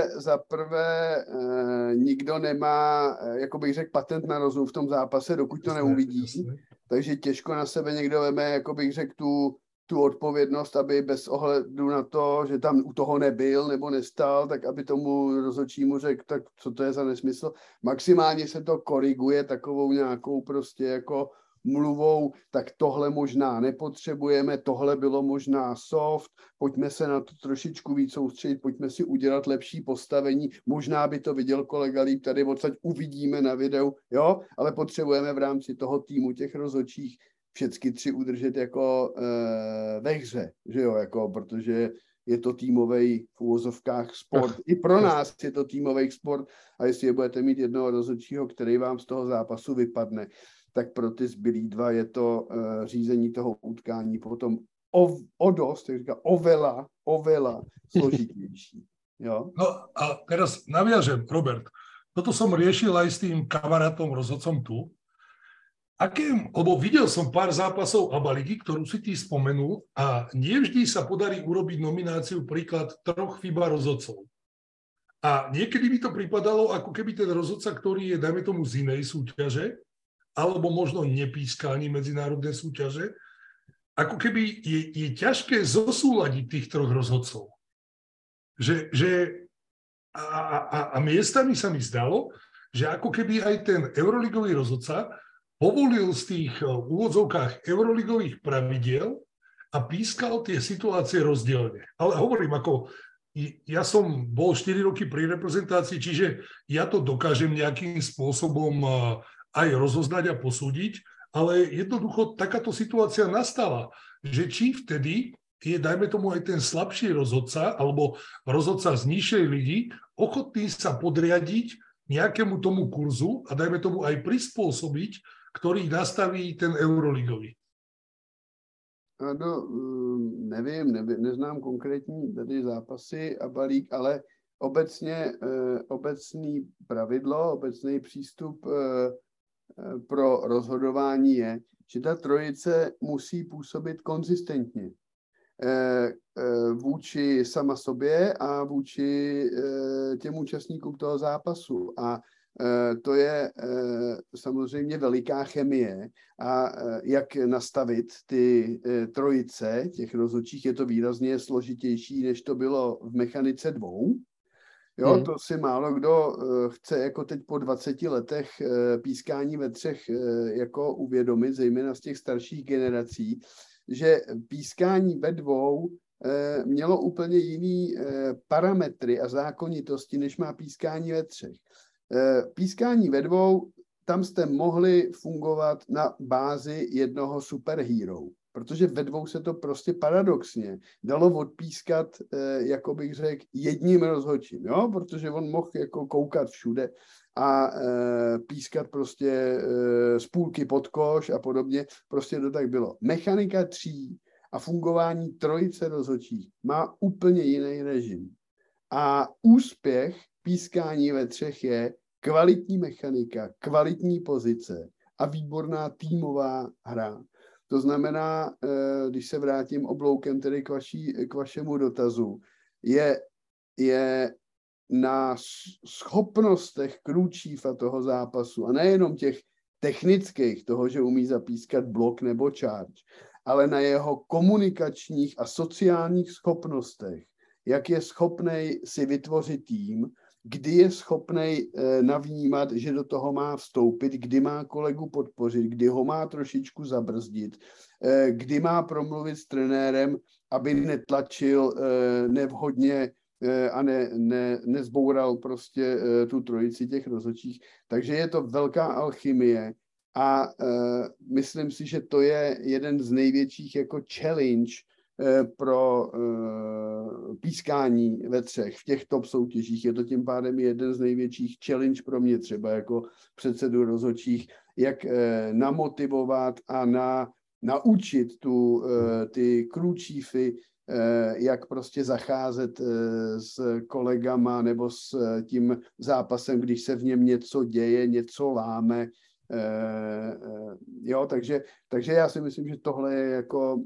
Speaker 3: prvé nikdo nemá, jako bych řekl, patent na rozum v tom zápase, dokud to neuvidí. Jasně. Takže těžko na sebe někdo veme, jako bych řekl, tu odpovědnost, aby bez ohledu na to, že tam u toho nebyl nebo nestal, tak aby tomu rozhodčímu řekl, tak co to je za nesmysl. Maximálně se to koriguje takovou nějakou prostě jako mluvou, tak tohle možná nepotřebujeme, tohle bylo možná soft, pojďme se na to trošičku víc soustředit, pojďme si udělat lepší postavení, možná by to viděl kolega líp, tady odsaď uvidíme na videu, jo, ale potřebujeme v rámci toho týmu těch rozhodčích všechny tři udržet jako ve hře, že jo, jako, protože je to týmový v uvozovkách sport. I pro nás je to týmový sport a jestli budete mít jednoho rozhodčího, který vám z toho zápasu vypadne, tak pro ty zbylí dva je to řízení toho utkání potom o dost, jak říká, oveľa složitější. Jo?
Speaker 2: No a teraz naviažem, Robert, toto som riešil aj s tým kamarátom rozhodcom tu. Lebo videl som pár zápasov ABA ligy, ktorú si ty spomenul a nie vždy sa podarí urobiť nomináciu príklad 3 FIBA rozhodcov. A niekedy by to pripadalo, ako keby ten rozhodca, ktorý je, dajme tomu, z inej súťaže, alebo možno nepíska ani medzinárodné súťaže, ako keby je ťažké zosúľadiť tých 3 rozhodcov. A miestami sa mi zdalo, že ako keby aj ten euroligový rozhodca povolil z tých v úvodzovkách euroligových pravidiel a pískal tie situácie rozdielne. Ale hovorím, ako ja som bol 4 roky pri reprezentácii, čiže ja to dokážem nejakým spôsobom aj rozoznať a posúdiť, ale jednoducho takáto situácia nastala, že či vtedy je, dajme tomu, aj ten slabší rozhodca alebo rozhodca z nižšej ligy ochotný sa podriadiť nejakému tomu kurzu a dajme tomu aj prispôsobiť, ktorý nastaví ten euroligový.
Speaker 3: No, nevím, neznám konkrétní tady zápasy a balík, ale obecný pravidlo, obecný přístup pro rozhodování je, že ta trojice musí působit konzistentně vůči sama sobě a vůči těm účastníkům toho zápasu. A to je samozřejmě veliká chemie a jak nastavit ty trojice těch rozhodčích, je to výrazně složitější, než to bylo v mechanice 2. Jo, to si málo kdo chce jako teď po 20 letech pískání ve 3 jako uvědomit, zejména z těch starších generací, že pískání ve 2 mělo úplně jiný parametry a zákonitosti, než má pískání ve 3. Pískání ve 2, tam jste mohli fungovat na bázi jednoho superhero. protože ve dvou se to prostě paradoxně dalo odpískat, jako bych řekl, jedním rozhodčím, jo? Protože on mohl jako koukat všude a pískat prostě z půlky pod koš a podobně, prostě to tak bylo. Mechanika tří a fungování trojice rozhodčích má úplně jiný režim. A úspěch pískání ve třech je kvalitní mechanika, kvalitní pozice a výborná týmová hra. To znamená, když se vrátím obloukem tedy k vašemu dotazu, je na schopnostech Cruciffa toho zápasu a nejenom těch technických, toho, že umí zapískat blok nebo charge, ale na jeho komunikačních a sociálních schopnostech, jak je schopnej si vytvořit tým, kdy je schopnej navnímat, že do toho má vstoupit, kdy má kolegu podpořit, kdy ho má trošičku zabrzdit, kdy má promluvit s trenérem, aby netlačil nevhodně a nezboural prostě tu trojici těch rozhodčích. Takže je to velká alchymie a myslím si, že to je jeden z největších jako challenge pro pískání ve třech v těch top soutěžích. Je to tím pádem jeden z největších challenge pro mě třeba jako předsedu rozhodčích, jak namotivovat a naučit ty Cruciffy, jak prostě zacházet s kolegama nebo s tím zápasem, když se v něm něco děje, něco láme. Jo, takže já si myslím, že tohle je jako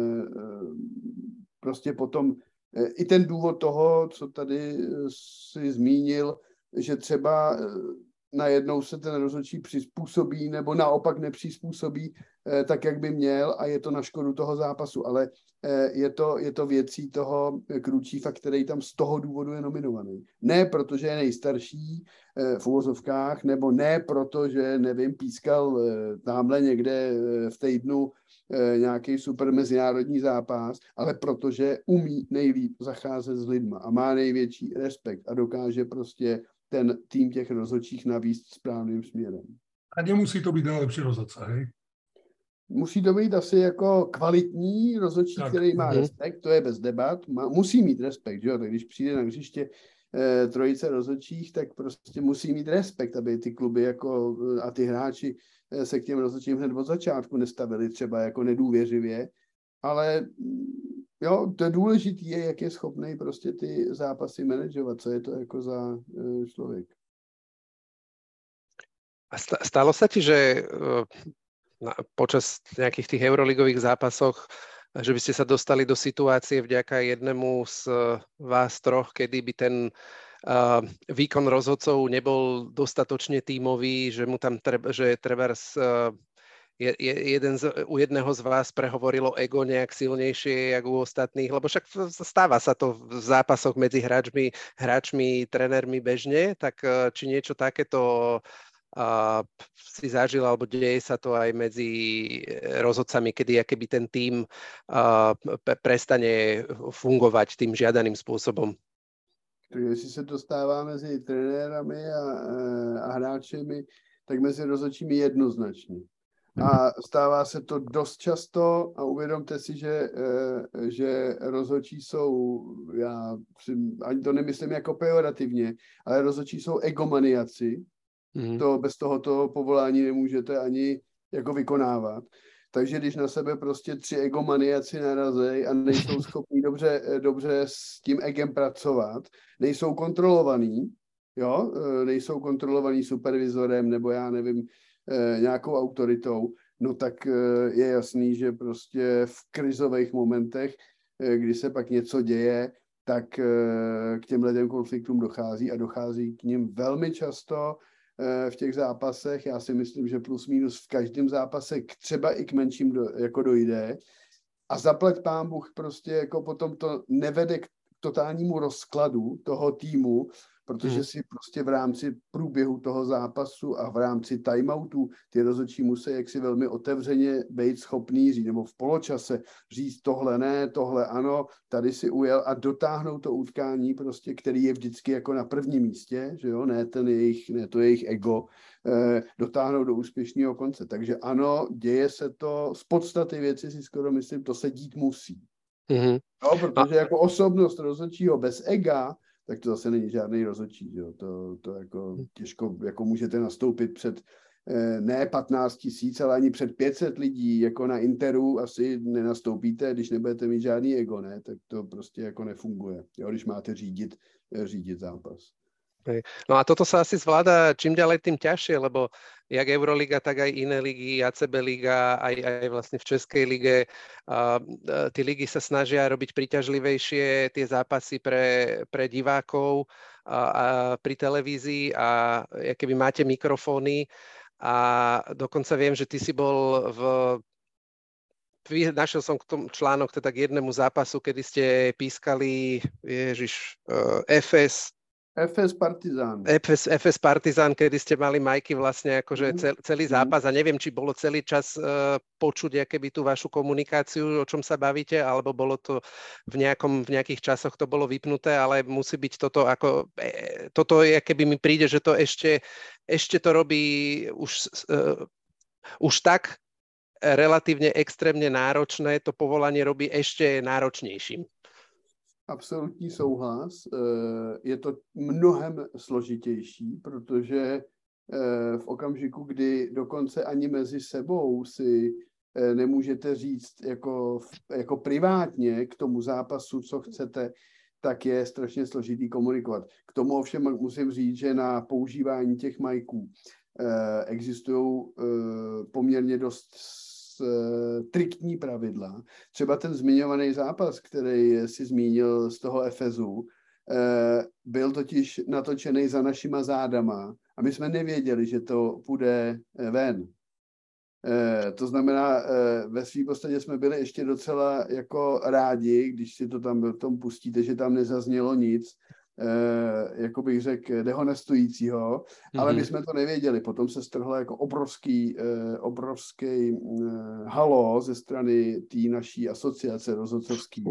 Speaker 3: prostě potom i ten důvod toho, co tady si zmínil, že třeba najednou se ten rozhodčí přizpůsobí nebo naopak nepřizpůsobí tak, jak by měl a je to na škodu toho zápasu, ale je to věcí toho Cruciffa, který tam z toho důvodu je nominovaný. Ne protože je nejstarší v uvozovkách, nebo ne proto, že nevím, pískal tamhle někde v týdnu nějaký super mezinárodní zápas, ale protože umí nejlíp zacházet s lidma a má největší respekt a dokáže prostě ten tým těch rozhodčích navíst správným směrem.
Speaker 2: A nemusí to být nejlepší rozhodce, hej?
Speaker 3: Musí to být asi jako kvalitní rozhodčí, který má respekt, to je bez debat, musí mít respekt, že jo? Tak když přijde na hřiště trojice rozhodčích, tak prostě musí mít respekt, aby ty kluby jako, a ty hráči se k těm rozhodčím hned od začátku nestavili třeba jako nedůvěřivě, ale jo, to důležité je, jak je schopný prostě ty zápasy manažovat, co je to jako za člověk.
Speaker 1: A stalo sa ti, že počas nejakých tých euroligových zápasoch, že by ste sa dostali do situácie vďaka jednému z vás troch, kedy by ten výkon rozhodcov nebol dostatočne tímový, že mu tam trebárs u jedného z vás prehovorilo ego nejak silnejšie jak u ostatných, lebo však stáva sa to v zápasoch medzi hráčmi, trénermi bežne, tak či niečo takéto si zažil, alebo deje sa to aj medzi rozhodcami, kedy akoby ten tím prestane fungovať tým žiadaným spôsobom.
Speaker 3: Jestli se to stává mezi trenérami a hráčemi, tak mezi rozhodčími jednoznačně. A stává se to dost často a uvědomte si, že rozhodčí jsou, ani to nemyslím jako pejorativně, ale rozhodčí jsou egomaniaci. To bez tohoto povolání nemůžete ani jako vykonávat. Takže když na sebe prostě 3 egomaniaci narazí a nejsou schopní dobře s tím egem pracovat, nejsou kontrolovaný, jo, nejsou kontrolovaný supervizorem nebo já nevím, nějakou autoritou, no tak je jasný, že prostě v krizových momentech, kdy se pak něco děje, tak k těmhle konfliktům dochází a dochází k nim velmi často v těch zápasech. Já si myslím, že plus minus v každém zápase třeba i k menším jako dojde. A zaplať pán Bůh prostě jako potom to nevede k totálnímu rozkladu toho týmu, protože si prostě v rámci průběhu toho zápasu a v rámci timeoutu ty rozhodčí musí jaksi velmi otevřeně být schopný říct, nebo v poločase říct tohle ne, tohle ano, tady si ujel a dotáhnout to utkání prostě, který je vždycky jako na prvním místě, že jo, ne to jejich ego, dotáhnout do úspěšného konce. Takže ano, děje se to, z podstaty věci si skoro myslím, to se dít musí.
Speaker 1: Mm-hmm.
Speaker 3: No, protože jako osobnost rozhodčího bez ega, tak to zase není žádný rozhodčí. Jo. To jako těžko jako můžete nastoupit před ne 15 000, ale ani před 500 lidí, jako na Interu asi nenastoupíte, když nebudete mít žádný ego, ne? Tak to prostě jako nefunguje, jo, když máte řídit zápas.
Speaker 1: No a toto sa asi zvláda čím ďalej tým ťažšie, lebo jak Euroliga, tak aj iné ligy, ACB liga, aj vlastne v Českej lige, tí ligy sa snažia robiť príťažlivejšie tie zápasy pre divákov a pri televízii a keby máte mikrofóny a dokonca viem, že ty si bol našiel som k tomu článok teda k jednému zápasu, kedy ste pískali
Speaker 3: FS Partizán.
Speaker 1: FS Partizán, kedy ste mali majky vlastne akože celý zápas a neviem, či bolo celý čas počuť akéby tú vašu komunikáciu, o čom sa bavíte, alebo bolo to v nejakých časoch to bolo vypnuté, ale musí byť toto ako, toto je, keby mi príde, že to ešte to robí už tak relatívne extrémne náročné, to povolanie robí ešte náročnejším.
Speaker 3: Absolutní souhlas. Je to mnohem složitější, protože v okamžiku, kdy dokonce ani mezi sebou si nemůžete říct jako privátně k tomu zápasu, co chcete, tak je strašně složitý komunikovat. K tomu ovšem musím říct, že na používání těch majků existují poměrně dost striktní pravidla. Třeba ten zmiňovaný zápas, který si zmínil z toho Efezu, byl totiž natočený za našima zádama a my jsme nevěděli, že to půjde ven. To znamená, ve svým podstatě jsme byli ještě docela jako rádi, když si to tam v tom pustíte, že tam nezaznělo nic, jako bych řekl, dehonestujícího, ale my jsme to nevěděli. Potom se strhlo jako obrovský halo ze strany té naší asociace rozhodcovský,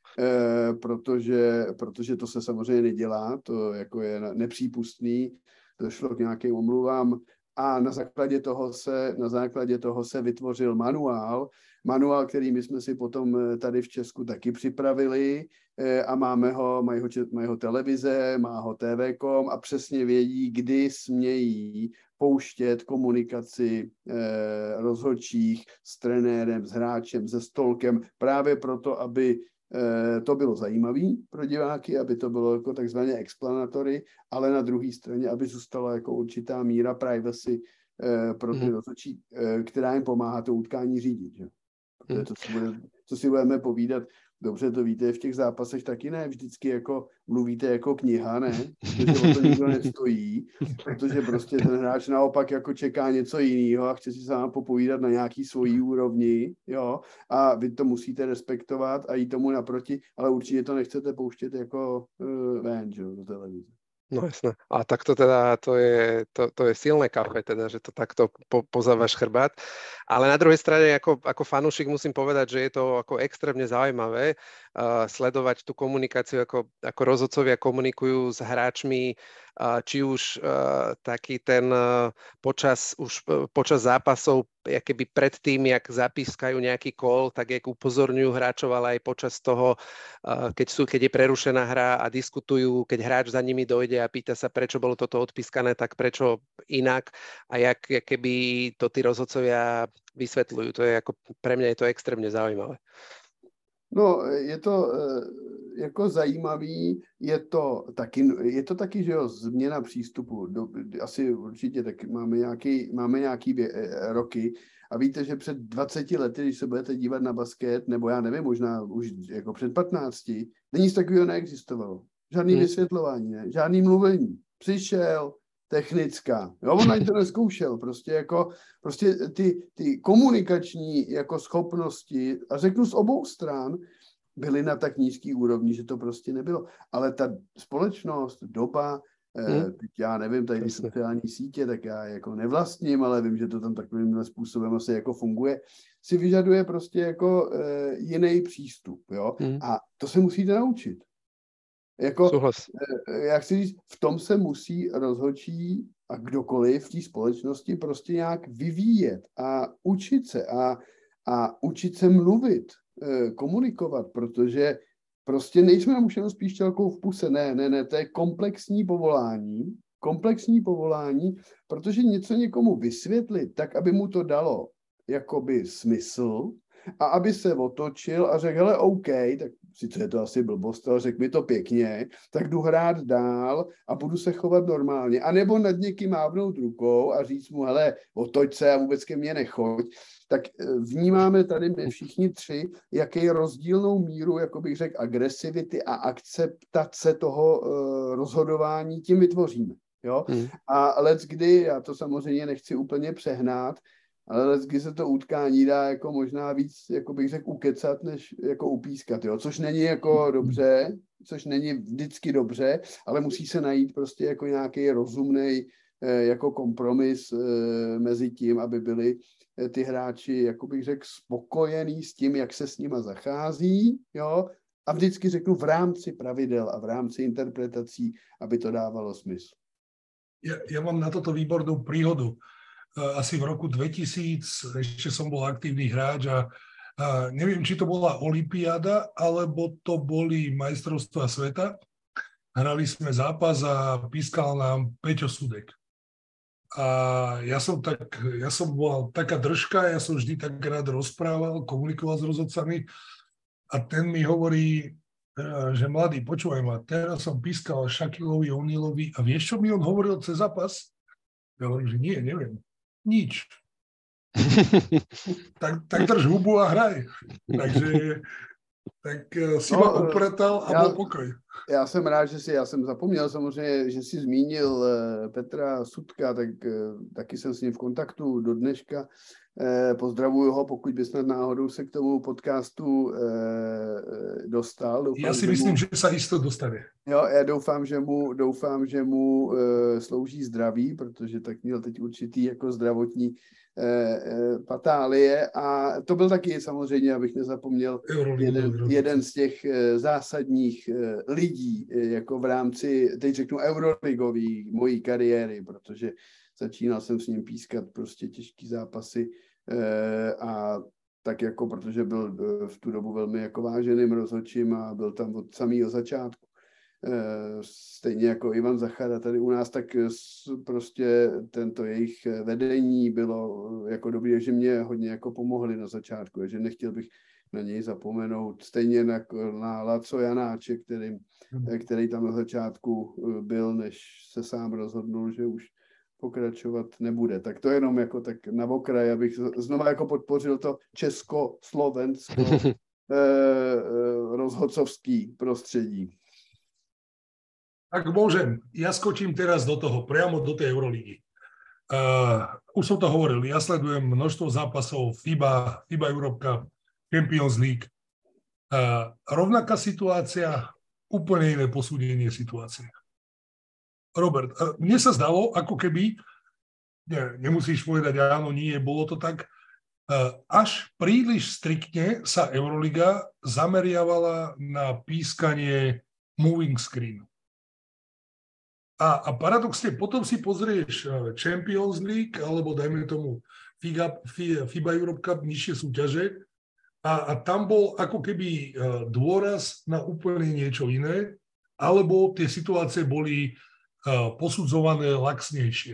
Speaker 3: protože to se samozřejmě nedělá, to jako je nepřípustný, došlo k nějakým omluvám a na základě toho se vytvořil manuál, který my jsme si potom tady v Česku taky připravili a mají ho televize, má ho TV.com a přesně vědí, kdy smějí pouštět komunikaci rozhodčích s trenérem, s hráčem, se stolkem, právě proto, aby to bylo zajímavé pro diváky, aby to bylo jako takzvané explanatory, ale na druhé straně, aby zůstala jako určitá míra privacy pro ty rozhodčí, která jim pomáhá to utkání řídit. Že? Co si budeme povídat, dobře to víte, v těch zápasech taky ne, vždycky jako mluvíte jako kniha, ne, protože o to nikdo nestojí, protože prostě ten hráč naopak jako čeká něco jiného a chce si s váma popovídat na nějaký svojí úrovni, jo, a vy to musíte respektovat a jít tomu naproti, ale určitě to nechcete pouštět jako ven, že, do televize.
Speaker 1: No jasné. A takto teda to je silné kafe, teda, že to takto pozávaš chrbát. Ale na druhej strane ako fanúšik musím povedať, že je to ako extrémne zaujímavé sledovať tú komunikáciu, ako rozhodcovia komunikujú s hráčmi, či už taký ten počas zápasov, keby pred tým, jak zapískajú nejaký kól, tak jak upozorňujú hráčov, ale aj počas toho, keď je prerušená hra a diskutujú, keď hráč za nimi dojde a pýta sa, prečo bolo toto odpískané, tak prečo inak a jak keby to tí rozhodcovia vysvetľujú. To je pre mňa je to extrémne zaujímavé.
Speaker 3: No, je to jako zajímavý, je to taky, že jo, změna přístupu. Asi určitě tak máme nějaký roky a víte, že před 20 lety, když se budete dívat na basket, nebo já nevím, možná už jako před 15, nic takového neexistovalo. Žádný vysvětlování, ne? Žádný mluvení. Přišel, technická. Jo, on ani to nezkoušel. Prostě ty komunikační jako schopnosti, a řeknu z obou stran, byly na tak nízký úrovni, že to prostě nebylo. Ale ta společnost, doba Teď já nevím, tady ty sociální sítě, tak já jako nevlastním, ale vím, že to tam takovým způsobem asi jako funguje, si vyžaduje prostě jako jiný přístup, jo. A to se musíte naučit. Jako, jak si říct, v tom se musí rozhodčí a kdokoliv v té společnosti prostě nějak vyvíjet a učit se a učit se mluvit, komunikovat, protože prostě nejsme nám už jenom spíš čelkou v puse, ne, to je komplexní povolání, protože něco někomu vysvětlit tak, aby mu to dalo jakoby smysl a aby se otočil a řekl, hele, OK, tak sice je to asi blbost, ale řekl mi to pěkně, tak jdu hrát dál a budu se chovat normálně. A nebo nad někým mávnout rukou a říct mu, hele, otoč se a vůbec ke mně nechoď. Tak vnímáme tady my všichni tři, jaký rozdílnou míru, jako bych řekl, agresivity a akceptace toho rozhodování tím vytvoříme. Jo? A leckdy, já to samozřejmě nechci úplně přehnat, ale leckdy se to utkání dá jako možná víc, jako bych řekl, ukecat, než jako upískat, jo? Což není jako dobře, což není vždycky dobře, ale musí se najít prostě jako nějaký rozumný jako kompromis mezi tím, aby byli ty hráči, jako bych řekl, spokojení s tím, jak se s nima zachází, jo? A vždycky řeknu v rámci pravidel a v rámci interpretací, aby to dávalo smysl.
Speaker 2: Ja mám na toto výbornú príhodu. Asi v roku 2000 ešte som bol aktívny hráč a neviem, či to bola olympiáda, alebo to boli majstrovstvá sveta. Hrali sme zápas a pískal nám Peťo Sudek. A ja som bola taká držka, ja som vždy tak rád rozprával, komunikoval s rozhodcami a ten mi hovorí, že mladý, počúvaj ma, teraz som pískal Shaquilovi O'Nealovi a vieš, čo mi on hovoril cez zápas? Ja hovorím, že nie, neviem. Nič. tak drž hubu a hraj. Takže si ma upratal a byl pokoj.
Speaker 3: Já jsem rád, já jsem zapomněl samozřejmě, že jsi zmínil Petra Sudka, tak taky jsem s ním v kontaktu do dneška. Pozdravuju ho, pokud by snad náhodou se k tomu podcastu dostal.
Speaker 2: Doufám, já si myslím, že se jisto dostane.
Speaker 3: Jo, já doufám, že mu slouží zdraví, protože tak měl teď určitý jako zdravotní patálie a to byl taky samozřejmě, abych nezapomněl, jeden z těch zásadních lidí jako v rámci, teď řeknu, euroligový mojí kariéry, protože začínal jsem s ním pískat prostě těžký zápasy a tak jako, protože byl v tu dobu velmi jako váženým rozhodčím a byl tam od samého začátku. Stejně jako Ivan Zachara tady u nás, tak prostě tento jejich vedení bylo jako dobré, že mě hodně jako pomohli na začátku, že nechtěl bych na něj zapomenout. Stejně na Laco Janáče, který tam na začátku byl, než se sám rozhodnul, že už pokračovat nebude. Tak to jenom jako tak na okraj, abych znova jako podpořil to česko-slovensko rozhodcovský prostředí.
Speaker 2: Ak môžem, ja skočím teraz do toho, priamo do tej Euroligy. Už som to hovoril, ja sledujem množstvo zápasov FIBA Europe Cup, Champions League. Rovnaká situácia, úplne iné posúdenie situácie. Robert, mne sa zdalo, ako keby, nemusíš povedať áno, nie, bolo to tak, až príliš striktne sa Euroliga zameriavala na pískanie moving screenu. A paradoxne, potom si pozrieš Champions League, alebo dajme tomu FIBA Europe Cup, nižšie súťaže, a tam bol ako keby dôraz na úplne niečo iné, alebo tie situácie boli posudzované laxnější.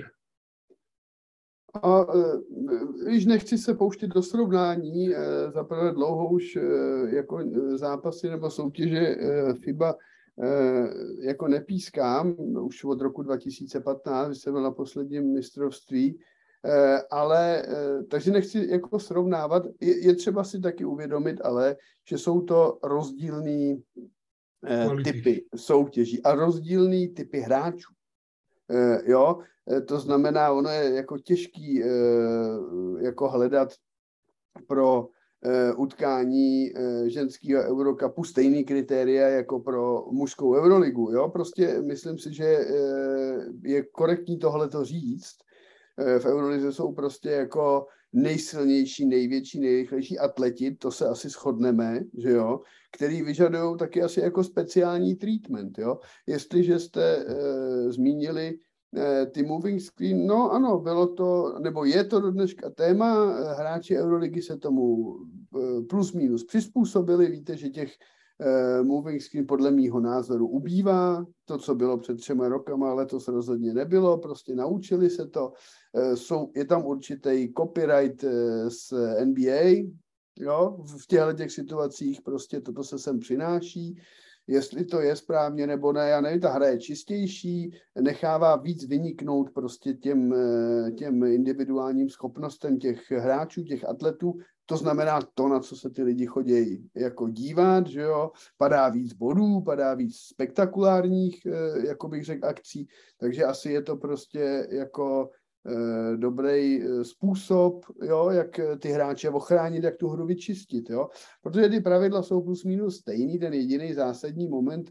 Speaker 3: Víš, nechci se pouštět do srovnání, zaprvé dlouho už jako zápasy nebo soutěže FIBA jako nepískám, už od roku 2015, když jsem byl na posledním mistrovství, ale takže nechci jako srovnávat, je třeba si taky uvědomit, ale že jsou to rozdílný typy soutěží a rozdílný typy hráčů. Jo, to znamená, ono je jako těžký jako hledat pro utkání ženského Eurocupu stejný kritéria jako pro mužskou Euroligu. Jo? Prostě myslím si, že je korektní tohleto říct. V Eurolize jsou prostě jako nejsilnější, největší, nejrychlejší atleti, to se asi shodneme, že jo, který vyžadují taky asi jako speciální treatment, jo. Jestliže jste zmínili ty moving screen, no ano, bylo to, nebo je to do dneška téma, hráči Euroligy se tomu plus minus přizpůsobili, víte, že těch moving screen podle mýho názoru ubývá, to, co bylo před 3 rokama, letos rozhodně nebylo, prostě naučili se to, je tam určitý copyright z NBA, jo, v těchto situacích prostě toto se sem přináší, jestli to je správně nebo ne, já nevím, ta hra je čistější, nechává víc vyniknout prostě těm individuálním schopnostem těch hráčů, těch atletů, to znamená to, na co se ty lidi chodí jako dívat, že jo, padá víc bodů, padá víc spektakulárních, jako bych řekl, akcí, takže asi je to prostě jako dobrý způsob, jo, jak ty hráče ochránit, jak tu hru vyčistit, jo, protože ty pravidla jsou plus minus stejný, ten jediný zásadní moment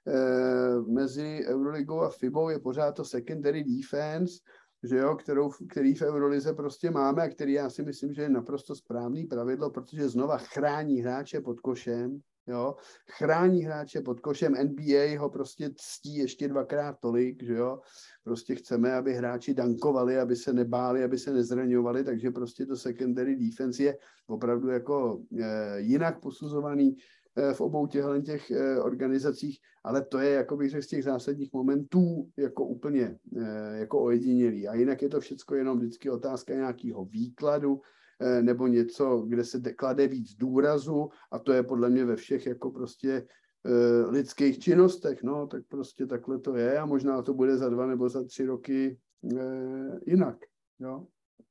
Speaker 3: mezi Euroligou a FIBou je pořád to secondary defense, že jo, který v Eurolize prostě máme a který já si myslím, že je naprosto správný pravidlo, protože znova chrání hráče pod košem, jo, chrání hráče pod košem, NBA ho prostě ctí ještě 2x tolik, že jo, prostě chceme, aby hráči dankovali, aby se nebáli, aby se nezraňovali, takže prostě to secondary defense je opravdu jako jinak posuzovaný v obou těch organizacích, ale to je, jako bych řekl, z těch zásadních momentů jako úplně jako ojedinělý. A jinak je to všecko jenom vždycky otázka nějakého výkladu nebo něco, kde se klade víc důrazu a to je podle mě ve všech jako prostě lidských činnostech, no, tak prostě takhle to je a možná to bude za 2 nebo za 3 roky jinak, jo.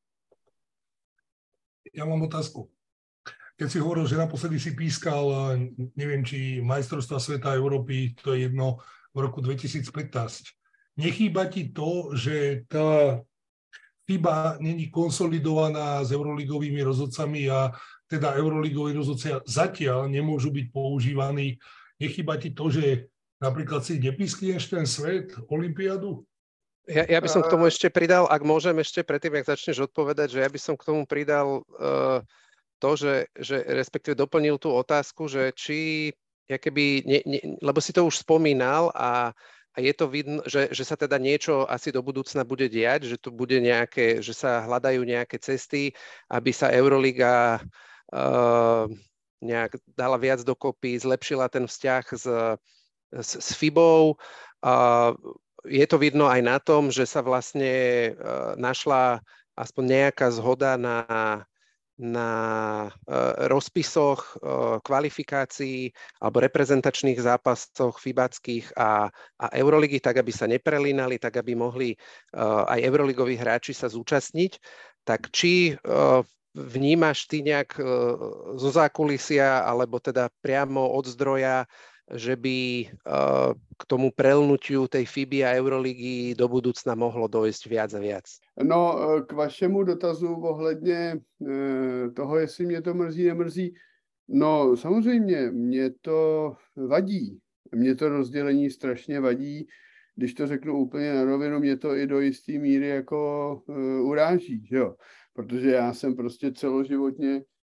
Speaker 2: Ja mám otázku. Keď si hovoril, že naposledy si pískal, neviem, či majstrovstva sveta Európy, to je jedno, v roku 2015. Nechýba ti to, že tá FIBA není konsolidovaná s euroligovými rozhodcami a teda euroligoví rozhodcia zatiaľ nemôžu byť používaní. Nechýba ti to, že napríklad si nepískneš ten svet, olympiádu?
Speaker 1: Ja by som k tomu ešte pridal, ak môžem ešte predtým, jak začneš odpovedať, že ja by som k tomu pridal to, že respektíve doplnil tú otázku, že či, lebo si to už spomínal a je to vidno, že sa teda niečo asi do budúcna bude diať, že tu bude že sa hľadajú nejaké cesty, aby sa Euroliga nejak dala viac dokopy, zlepšila ten vzťah s FIBou. Je to vidno aj na tom, že sa vlastne našla aspoň nejaká zhoda na rozpisoch kvalifikácií alebo reprezentačných zápasoch fibackých a Euroligy, tak aby sa neprelínali, tak aby mohli aj euroligoví hráči sa zúčastniť. Tak či vnímaš ty nejak zo zákulisia alebo teda priamo od zdroja, že by k tomu prelnutiu tej FIBY a Euroligy do budúcna mohlo dojsť viac a viac?
Speaker 3: No, k vašemu dotazu ohledně toho, jestli mě to mrzí, nemrzí. No, samozřejmě, mě to vadí. Mě to rozdělení strašně vadí. Když to řeknu úplně na rovinu, mě to i do jisté míry jako uráží, že jo? Protože já jsem prostě celoživotně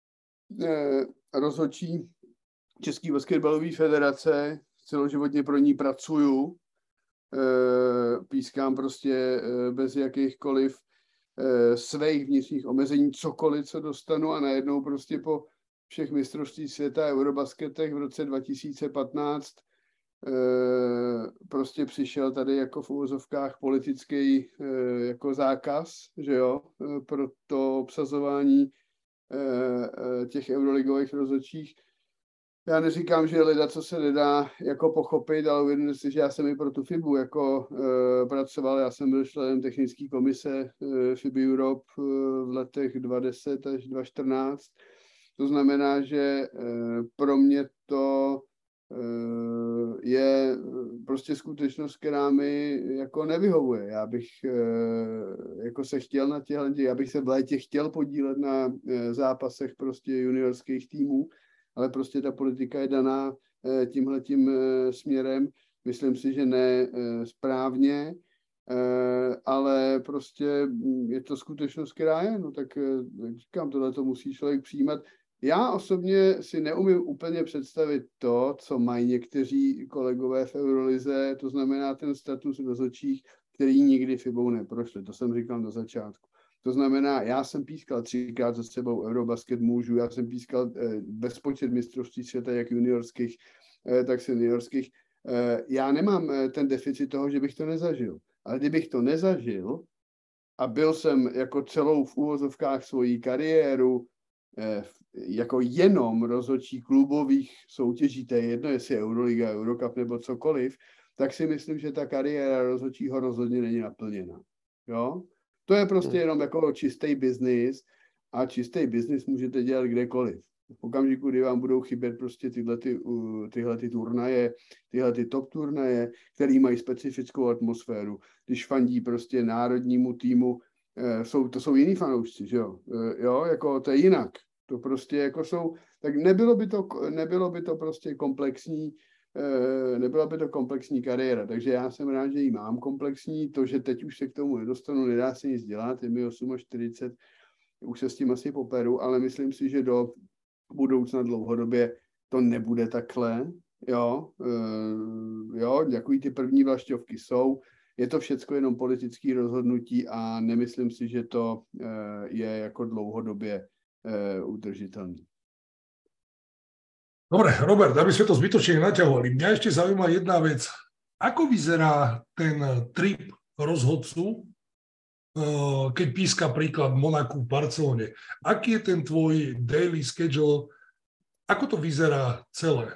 Speaker 3: rozhodčí České basketbalové federace, celoživotně pro ní pracuju, pískám prostě bez jakýchkoliv svých vnitřních omezení cokoliv, co dostanu a najednou prostě po všech mistrovství světa Eurobasketech v roce 2015 prostě přišel tady jako v uvozovkách politický jako zákaz, že jo, pro to obsazování těch euroligových rozhodčích. Já neříkám, že leda, co se nedá jako pochopit, ale uvědomte si, že já jsem i pro tu FIBu jako pracoval. Já jsem byl členem technické komise FIBA Europe v letech 2010 až 2014. To znamená, že pro mě to je prostě skutečnost, která mi jako nevyhovuje. Já bych jako se chtěl na těchto, já bych se v létě chtěl podílet na zápasech prostě juniorských týmů, ale prostě ta politika je daná tímhletím směrem. Myslím si, že ne správně, ale prostě je to skutečnost, která je, no tak říkám, tohle to musí člověk přijímat. Já osobně si neumím úplně představit to, co mají někteří kolegové v Eurolize, to znamená ten status rozhodčích, který nikdy FIBou neprošli. To jsem říkal na začátku. To znamená, já jsem pískal 3krát za sebou Eurobasket mužů, já jsem pískal bezpočet mistrovství světa, jak juniorských, tak seniorských. Já nemám ten deficit toho, že bych to nezažil. Ale kdybych to nezažil a byl jsem jako celou v úvozovkách svojí kariéru jako jenom rozhodčí klubových soutěží, to je jedno, jestli Euroliga, Eurocup nebo cokoliv, tak si myslím, že ta kariéra rozhodčího rozhodně není naplněna. Jo? To je prostě jenom jako čistý biznis a čistý biznis můžete dělat kdekoliv. V okamžiku, kdy vám budou chybět prostě tyhle turnaje, tyhle top turnaje, který mají specifickou atmosféru, když fandí prostě národnímu týmu, to jsou jiní fanoušci, že jo? Jo, jako to je jinak. To prostě jako jsou, tak nebylo by to prostě komplexní, nebyla by to komplexní kariéra, takže já jsem rád, že ji mám komplexní, to, že teď už se k tomu nedostanu, nedá se nic dělat, je mi 48, už se s tím asi poperu, ale myslím si, že do budoucna dlouhodobě to nebude takhle, jo, takový ty první vlašťovky jsou, je to všecko jenom politické rozhodnutí a nemyslím si, že to je jako dlouhodobě udržitelný.
Speaker 2: Dobre, Robert, aby sme to zbytočne naťahovali. Mňa ešte zaujíma jedna vec. Ako vyzerá ten trip rozhodcu, keď píska príklad Monaku v Barcelone? Aký je ten tvoj daily schedule? Ako to vyzerá celé?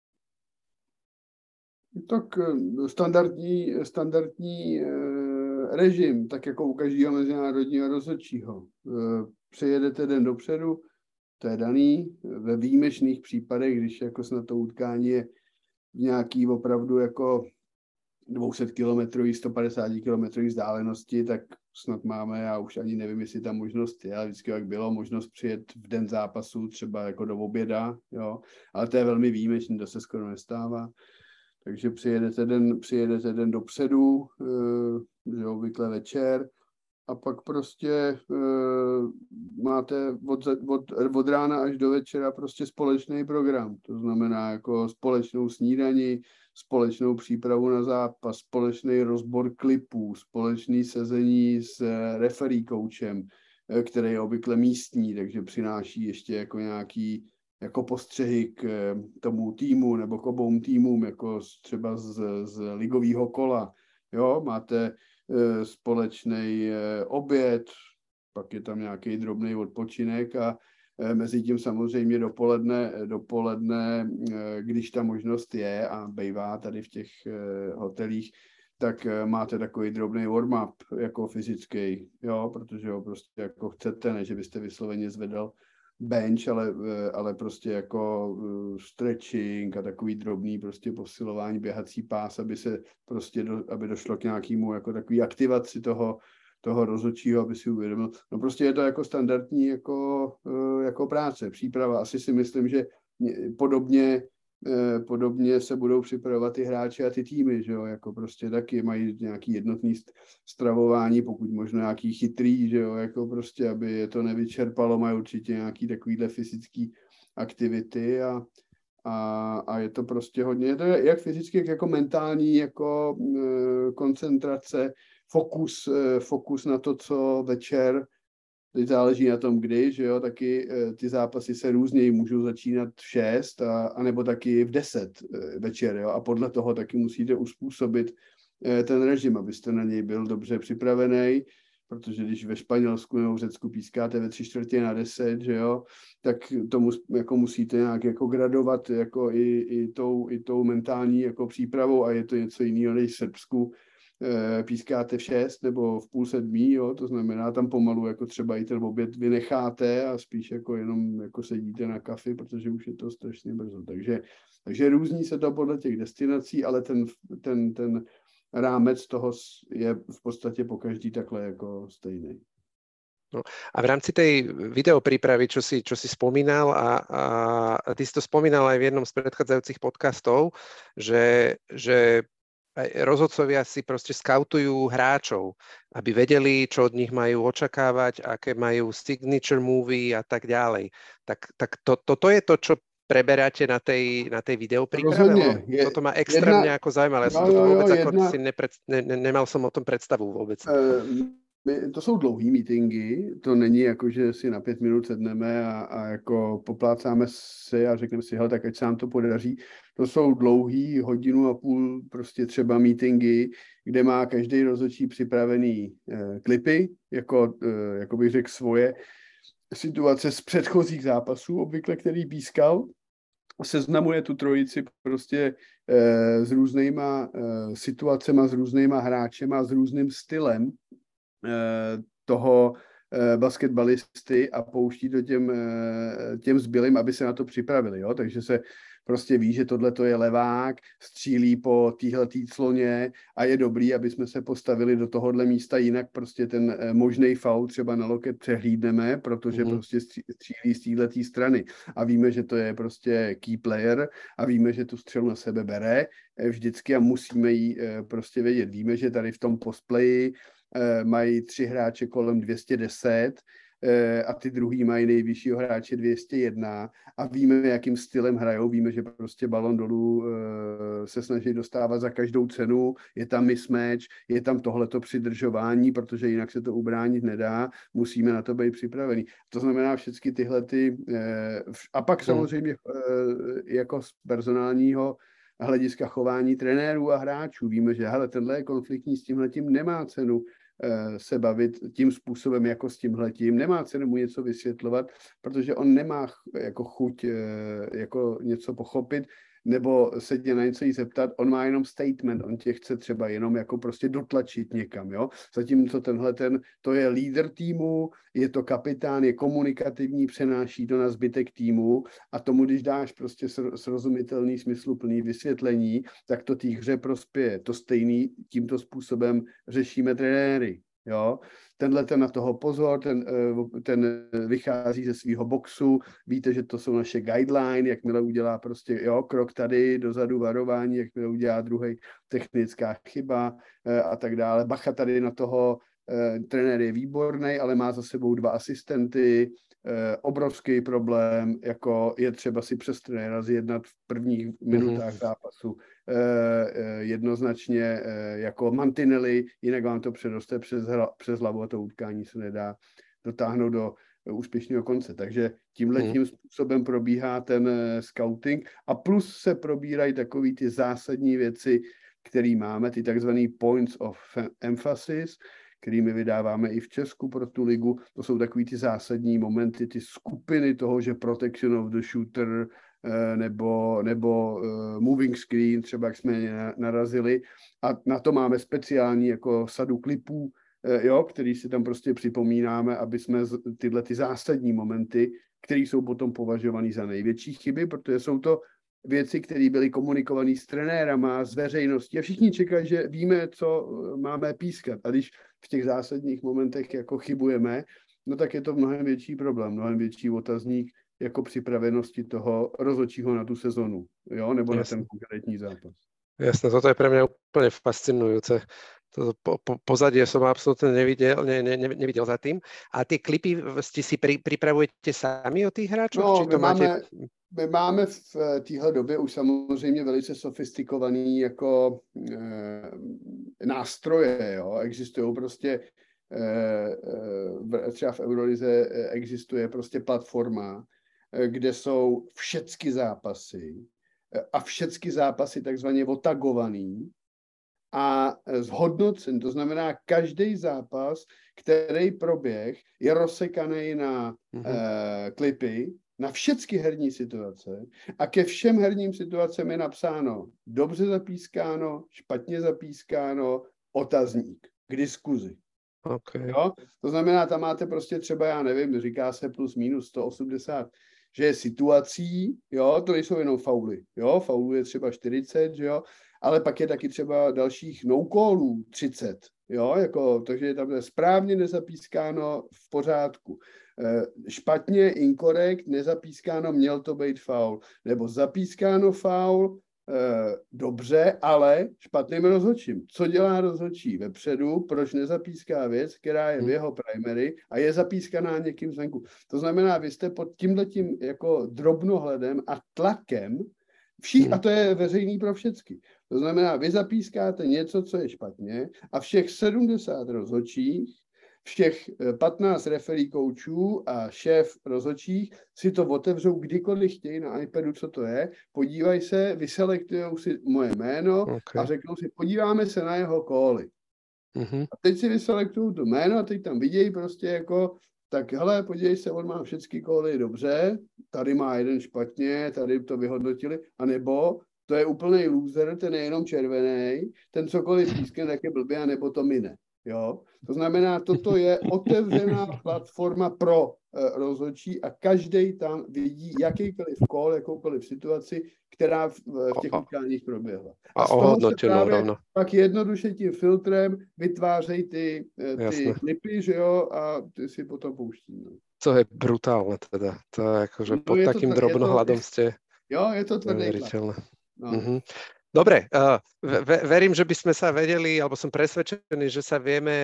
Speaker 3: Tak standardní režim, tak jako u každého mezinárodního rozhodčího. Přijedete den dopředu, to je daný. Ve výjimečných případech, když jako snad to utkání je v nějaký opravdu jako 200 km, 150 km vzdálenosti, tak snad máme, já už ani nevím, jestli ta možnost je, ale vždycky jak bylo, možnost přijet v den zápasu, třeba jako do oběda, jo, ale to je velmi výjimečný, to se skoro nestává. Takže přijedete den dopředu, že obvykle večer, a pak prostě máte od rána až do večera prostě společný program. To znamená jako společnou snídani, společnou přípravu na zápas, společný rozbor klipů, společný sezení s referee coachem, který je obvykle místní, takže přináší ještě jako nějaký jako postřehy k tomu týmu nebo k obou týmům, jako třeba z ligového kola. Jo, máte společný oběd, pak je tam nějaký drobný odpočinek a mezi tím samozřejmě dopoledne, když ta možnost je a bývá tady v těch hotelích, tak máte takový drobný warm-up jako fyzický, jo, protože ho prostě jako chcete, ne, že byste vysloveně zvedal bench, ale prostě jako stretching a takový drobný prostě posilování, běhací pás, aby došlo k nějakému jako takový aktivaci toho rozhodčího, aby si uvědomil. No prostě je to jako standardní jako práce, příprava. Asi si myslím, že podobně se budou připravovat ty hráči a ty týmy, že jo, jako prostě taky mají nějaký jednotný stravování, pokud možno nějaký chytrý, že jo, jako prostě, aby je to nevyčerpalo, mají určitě nějaký takovýhle fyzický aktivity a je to prostě hodně, je to jak fyzicky, jako mentální, jako koncentrace, fokus na to, co večer. Teď záleží na tom, kdy, že jo, taky ty zápasy se různěji můžou začínat v 6 a nebo taky v 10 večer, jo, a podle toho taky musíte uspůsobit ten režim, abyste na něj byl dobře připravený, protože když ve Španělsku nebo v Řecku pískáte ve 9:45, že jo, tak tomu jako musíte nějak jako gradovat jako i tou mentální jako přípravou a je to něco jiného než v Srbsku, pískáte v 6 nebo v 6:30, jo, to znamená tam pomalu jako třeba i ten oběd vynecháte a spíš jako jenom jako sedíte na kafi, protože už je to strašně brzo. Takže různí se to podle těch destinací, ale ten rámec toho je v podstatě pokaždý takhle jako stejný.
Speaker 1: No, a v rámci tej videoprípravy, čo si spomínal a ty si to spomínal aj v jednom z predchádzajúcich podcastov, že aj rozhodcovia si proste skautujú hráčov, aby vedeli, čo od nich majú očakávať, aké majú signature movie a tak ďalej. Tak toto je to, čo preberáte na tej videopríprave? Toto ma extrémne ako zaujímavé. Ja som toto vôbec nemal som o tom predstavu vôbec.
Speaker 3: To jsou dlouhý meetingy, to není jako, že si na 5 minut sedneme a jako poplácáme si a řekneme si, hele, tak ať se nám to podaří. To jsou dlouhý, 1.5 hodiny prostě třeba meetingy, kde má každý rozhodčí připravený klipy, jako bych řekl svoje situace z předchozích zápasů, obvykle který pískal. Seznamuje tu trojici prostě s různýma situacema, s různýma hráčema, s různým stylem toho basketbalisty a pouští to těm zbylým, aby se na to připravili. Jo? Takže se prostě ví, že tohle je levák, střílí po téhletý cloně a je dobrý, aby jsme se postavili do tohohle místa, jinak prostě ten možný faul třeba na loket přehlídneme, protože prostě střílí z téhletý strany. A víme, že to je prostě key player a víme, že tu střelu na sebe bere vždycky a musíme ji prostě vědět. Víme, že tady v tom postplayi mají 3 hráče kolem 210 a ty druhý mají nejvyššího hráče 201 a víme, jakým stylem hrajou, víme, že prostě balon dolů se snaží dostávat za každou cenu, je tam mismatch, je tam tohleto přidržování, protože jinak se to ubránit nedá, musíme na to být připravení. To znamená všechny tyhle a pak samozřejmě jako z personálního hlediska chování trenérů a hráčů. Víme, že hele, tenhle je konfliktní, s tímhletím nemá cenu se bavit tím způsobem jako s tímhletím, nemá cenu mu něco vysvětlovat, protože on nemá jako chuť jako něco pochopit nebo se tě na něco jí zeptat, on má jenom statement, on tě chce třeba jenom jako prostě dotlačit někam, jo. Zatímco to je lídr týmu, je to kapitán, je komunikativní, přenáší to na zbytek týmu a tomu, když dáš prostě srozumitelný, smysluplný vysvětlení, tak to té hře prospěje. To stejný tímto způsobem řešíme trenéry. Jo? Tenhle ten na toho pozor, ten vychází ze svého boxu, víte, že to jsou naše guideline, jakmile udělá prostě krok tady dozadu varování, jakmile udělá druhý technická chyba a tak dále. Bacha tady na toho, trenér je výborný, ale má za sebou 2 asistenty, obrovský problém, jako je třeba si přes trenéra zjednat v prvních minutách zápasu jednoznačně jako mantinely, jinak vám to předoste přes hlavu a to utkání se nedá dotáhnout do úspěšného konce. Takže tímhletím způsobem probíhá ten scouting a plus se probírají takový ty zásadní věci, které máme, ty takzvaný points of emphasis, kterými vydáváme i v Česku pro tu ligu. To jsou takový ty zásadní momenty, ty skupiny toho, že protection of the shooter nebo moving screen, třeba jak jsme narazili. A na to máme speciální jako sadu klipů, který si tam prostě připomínáme, aby jsme tyhle ty zásadní momenty, které jsou potom považované za největší chyby, protože jsou to věci, které byly komunikované s trenérama, s veřejností a všichni čekají, že víme, co máme pískat. A když v těch zásadních momentech jako chybujeme, no tak je to mnohem větší problém, mnohem větší otazník jako připravenosti toho rozhodčího na tu sezonu, jo, nebo na ten konkrétní zápas.
Speaker 1: Jasné, toto je pre mňa úplne fascinujúce. Pozadie som absolútne nevidel za tým. A tie klipy si pripravujete sami od tých hráčov?
Speaker 3: No, my máme v téhle době už samozřejmě velice sofistikovaný jako nástroje. Jo? Existují prostě, třeba v Eurolize existuje prostě platforma, kde jsou všechny zápasy a všechny zápasy takzvaně otagovaný a zhodnocen. To znamená, každý zápas, který proběh, je rozsekaný na klipy, na všechny herní situace a ke všem herním situacem je napsáno dobře zapískáno, špatně zapískáno, otazník k diskuzi.
Speaker 1: Okay.
Speaker 3: Jo? To znamená, tam máte prostě třeba, já nevím, říká se plus minus 180, že je situací, jo, to nejsou jenom fauly, jo, faulů je třeba 40, že jo, ale pak je taky třeba dalších no-callů 30, jo, jako, takže tam je správně nezapískáno v pořádku. Špatně, inkorekt, nezapískáno, měl to být faul, nebo zapískáno faul, dobře, ale špatným rozhodčím. Co dělá rozhodčí vepředu, proč nezapíská věc, která je v jeho primary a je zapískaná někým zvenku. To znamená, vy jste pod tímhletím jako drobnohledem a tlakem, a to je veřejný pro všecky. To znamená, vy zapískáte něco, co je špatně a všech 70 rozhodčích, všech 15 referee koučů a šéf rozhodčích si to otevřou kdykoliv chtějí na iPadu, co to je, podívají se, vyselektujou si moje jméno a řeknou si, podíváme se na jeho cally. A teď si vyselektují to jméno a teď tam vidějí prostě jako, tak hele, podívej se, on má všechny cally dobře, tady má jeden špatně, tady to vyhodnotili, anebo to je úplnej loser, ten je jenom červený, ten cokoliv pískne, tak je blbě, anebo to mine. Jo? To znamená, toto je otevřená platforma pro rozhodčí a každý tam vidí jakýkoliv call, jakoukoliv situaci, která v těch utkáních proběhla. A z toho se právě pak jednoduše tím filtrem vytvářejí ty klipy, že jo, a ty si potom pouští. No.
Speaker 1: To je brutálne teda. To je akože no, pod takým drobnohľadom ste...
Speaker 3: Jo, je to tvrdé.
Speaker 1: No. Dobre, verím, že by sme sa vedeli, alebo som presvedčený, že sa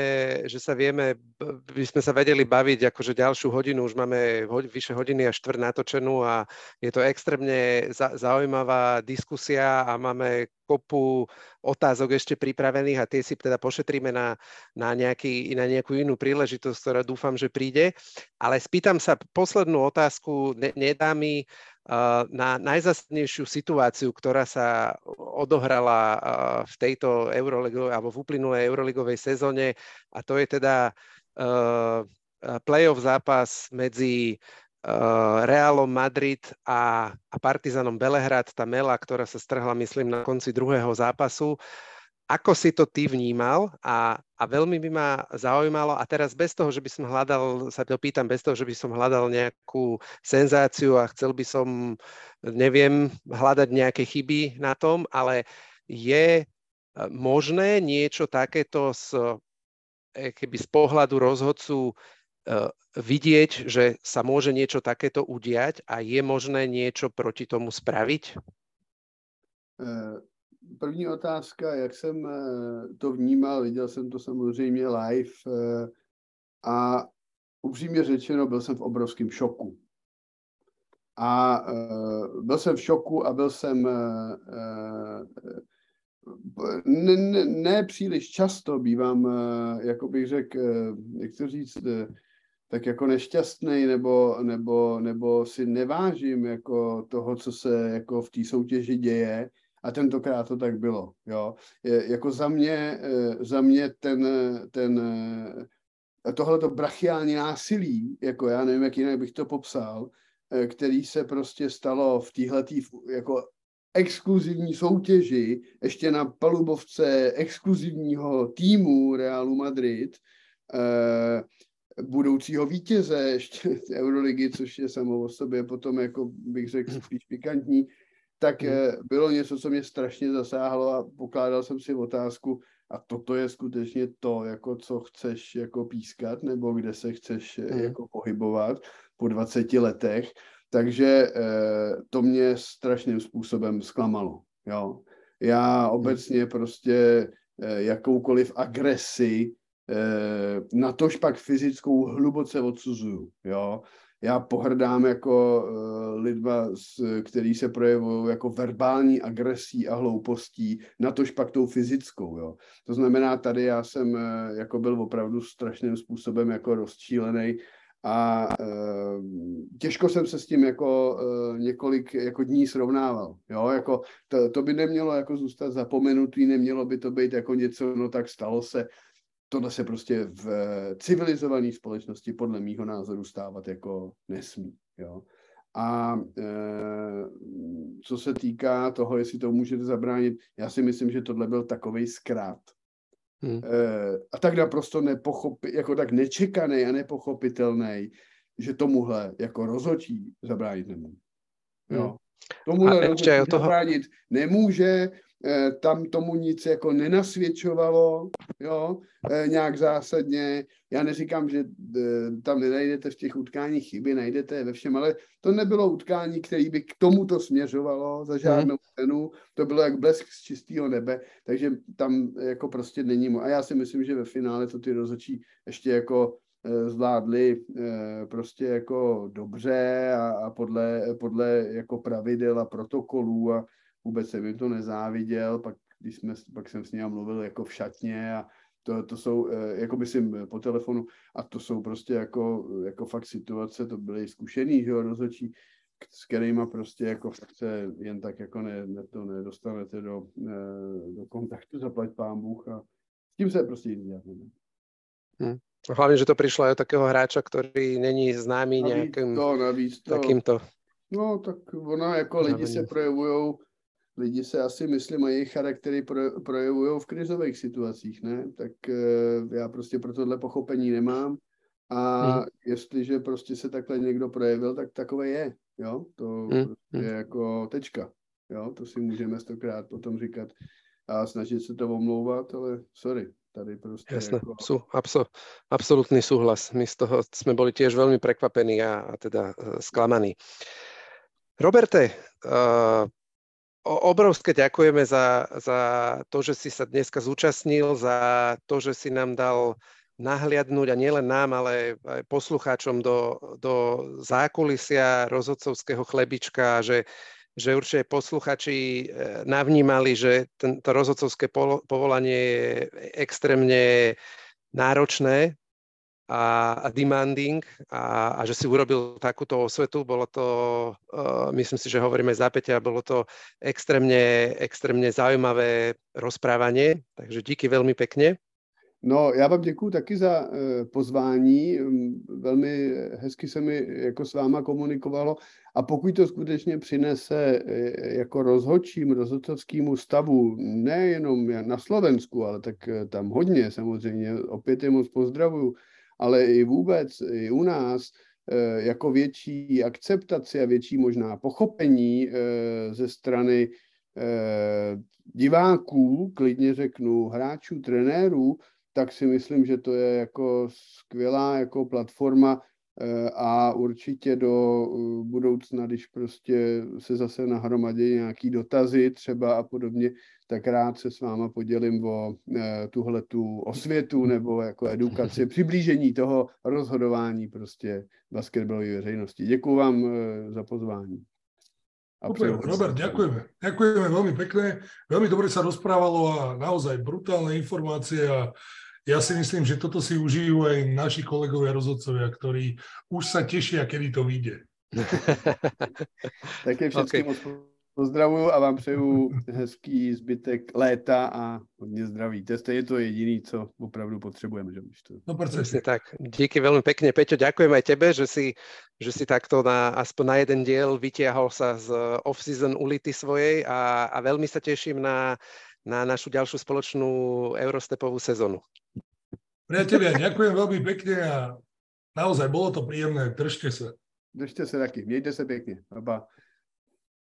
Speaker 1: by sme sa vedeli baviť akože ďalšiu hodinu, už máme vyše hodiny a štvrť natočenú a je to extrémne zaujímavá diskusia a máme kopu otázok ešte pripravených a tie si teda pošetríme na nejakú inú príležitosť, ktorá dúfam, že príde. Ale spýtam sa poslednú otázku, nedá mi na najzásadnejšiu situáciu, ktorá sa odohrala v tejto Euroligovej alebo v uplynulej Euroligovej sezóne, a to je teda playoff zápas medzi Realom Madrid a Partizanom Belehrad, tá mela, ktorá sa strhla, myslím, na konci druhého zápasu. Ako si to ty vnímal a veľmi by ma zaujímalo, a teraz bez toho, že by som hľadal, sa to pýtam, bez toho, že by som hľadal nejakú senzáciu a chcel by som, neviem, hľadať nejaké chyby na tom, ale je možné niečo takéto keby z pohľadu rozhodcu vidieť, že sa môže niečo takéto udiať a je možné niečo proti tomu spraviť?
Speaker 3: První otázka, jak jsem to vnímal, viděl jsem to samozřejmě live a upřímně řečeno, byl jsem v obrovském šoku. A byl jsem v šoku a byl jsem ne příliš často bývám, jako bych řekl, jak to říct, tak jako nešťastný nebo si nevážím jako toho, co se jako v té soutěži děje. A tentokrát to tak bylo, jo. Jako za mě tohleto brachiální násilí, jako já nevím, jak jinak bych to popsal, který se prostě stalo v téhletý jako exkluzivní soutěži, ještě na palubovce exkluzivního týmu Realu Madrid, budoucího vítěze ještě Euroligy, což je samo o sobě potom, jako bych řekl, spíš pikantní, tak bylo něco, co mě strašně zasáhlo a pokládal jsem si otázku, a toto je skutečně to, jako co chceš jako pískat, nebo kde se chceš jako pohybovat po 20 letech. Takže to mě strašným způsobem zklamalo. Jo. Já obecně prostě jakoukoliv agresi, natož pak fyzickou, hluboce odsuzuju. Jo. Já pohrdám jako lidma, který se projevují jako verbální agresí a hloupostí, natož pak tou fyzickou. Jo. To znamená, tady já jsem jako byl opravdu strašným způsobem jako rozčílený a těžko jsem se s tím jako několik jako dní srovnával. Jo. Jako to by nemělo jako zůstat zapomenutý, nemělo by to být jako něco, no tak stalo se. Tohle se prostě v civilizované společnosti podle mýho názoru stávat jako nesmí. Jo. A co se týká toho, jestli to můžete zabránit, já si myslím, že tohle byl takovej zkrát. A tak naprosto jako tak nečekaný a nepochopitelný, že tomuhle jako rozhodčí zabránit nemůže. Jo. Tomuhle rozhodčí zabránit nemůže. tam tomu nic jako nenasvědčovalo, jo, nějak zásadně. Já neříkám, že tam nenajdete v těch utkáních chyby, najdete ve všem, ale to nebylo utkání, které by k tomuto směřovalo za žádnou cenu. To bylo jak blesk z čistého nebe, takže tam jako prostě není. A já si myslím, že ve finále to ty rozhodčí ještě jako zvládli prostě jako dobře a podle jako pravidel a protokolů a vůbec jsem jim to nezáviděl, pak jsem s ním mluvil jako v šatně a to jsou, jako myslím po telefonu, a to jsou prostě jako fakt situace, to byly zkušený, že jo, rozhodčí, s kterýma prostě jako fakt se jen tak jako nedostanete do kontaktu, zaplať pán Bůh a s tím se prostě nic dělat nedá.
Speaker 1: Hlavne, že to prišlo aj od takého hráča, ktorý není známy nejakým takýmto.
Speaker 3: No, tak ono jako lidi se projevujou, lidi se asi myslím a jejich charaktery projevujou v krizových situacích, ne? Tak já prostě pro tohle pochopení nemám a jestliže prostě se takhle někdo projevil, tak takové je, jo? To prostě je jako tečka, jo? To si můžeme 100krát potom říkat a snažit se to omlouvat, ale sorry. Tady prostě
Speaker 1: jasné,
Speaker 3: jako...
Speaker 1: absolútny súhlas. My z toho sme boli tiež veľmi prekvapení a teda sklamaní. Roberte, obrovské ďakujeme za to, že si sa dneska zúčastnil, za to, že si nám dal nahliadnúť a nielen nám, ale aj poslucháčom do zákulisia rozhodcovského chlebička, že určite posluchači navnímali, že to rozhodcovské povolanie je extrémne náročné a demanding a že si urobil takúto osvetu. Bolo to, myslím si, že hovoríme za Peťa, bolo to extrémne zaujímavé rozprávanie, takže díky veľmi pekne.
Speaker 3: No, já vám děkuju taky za pozvání, velmi hezky se mi jako s váma komunikovalo a pokud to skutečně přinese jako rozhodcovskému stavu, nejenom na Slovensku, ale tak tam hodně samozřejmě, opět je moc pozdravuju, ale i vůbec, i u nás, jako větší akceptaci a větší možná pochopení ze strany diváků, klidně řeknu, hráčů, trenérů, tak si myslím, že to je jako skvělá jako platforma a určitě do budoucna, když prostě se zase nahromadí nějaký dotazy třeba a podobně, tak rád se s váma podělím o tuhletu osvětu nebo jako edukaci, přiblížení toho rozhodování prostě basketbalové veřejnosti. Děkuju vám za pozvání.
Speaker 2: Super, Robert, ďakujeme. Ďakujeme veľmi pekne. Veľmi dobre sa rozprávalo a naozaj brutálne informácie a ja si myslím, že toto si užijú aj naši kolegovia rozhodcovia, ktorí už sa tešia, kedy to vyjde.
Speaker 3: Také všetkým pozdravuju a vám přeju hezký zbytek léta a hodně zdraví. To je to jediné, co opravdu potřebujeme. Že?
Speaker 1: No, presne tak. Díky veľmi pekne, Peťo. Ďakujem aj tebe, že si takto aspoň na jeden diel vytiahol sa z off-season ulity svojej a veľmi sa teším na našu ďalšiu spoločnú Eurostepovú sezónu.
Speaker 2: Priatelia, ďakujem veľmi pekne a naozaj bolo to príjemné. Držte sa.
Speaker 3: Držte se taky. Mějte se pěkně. Pa.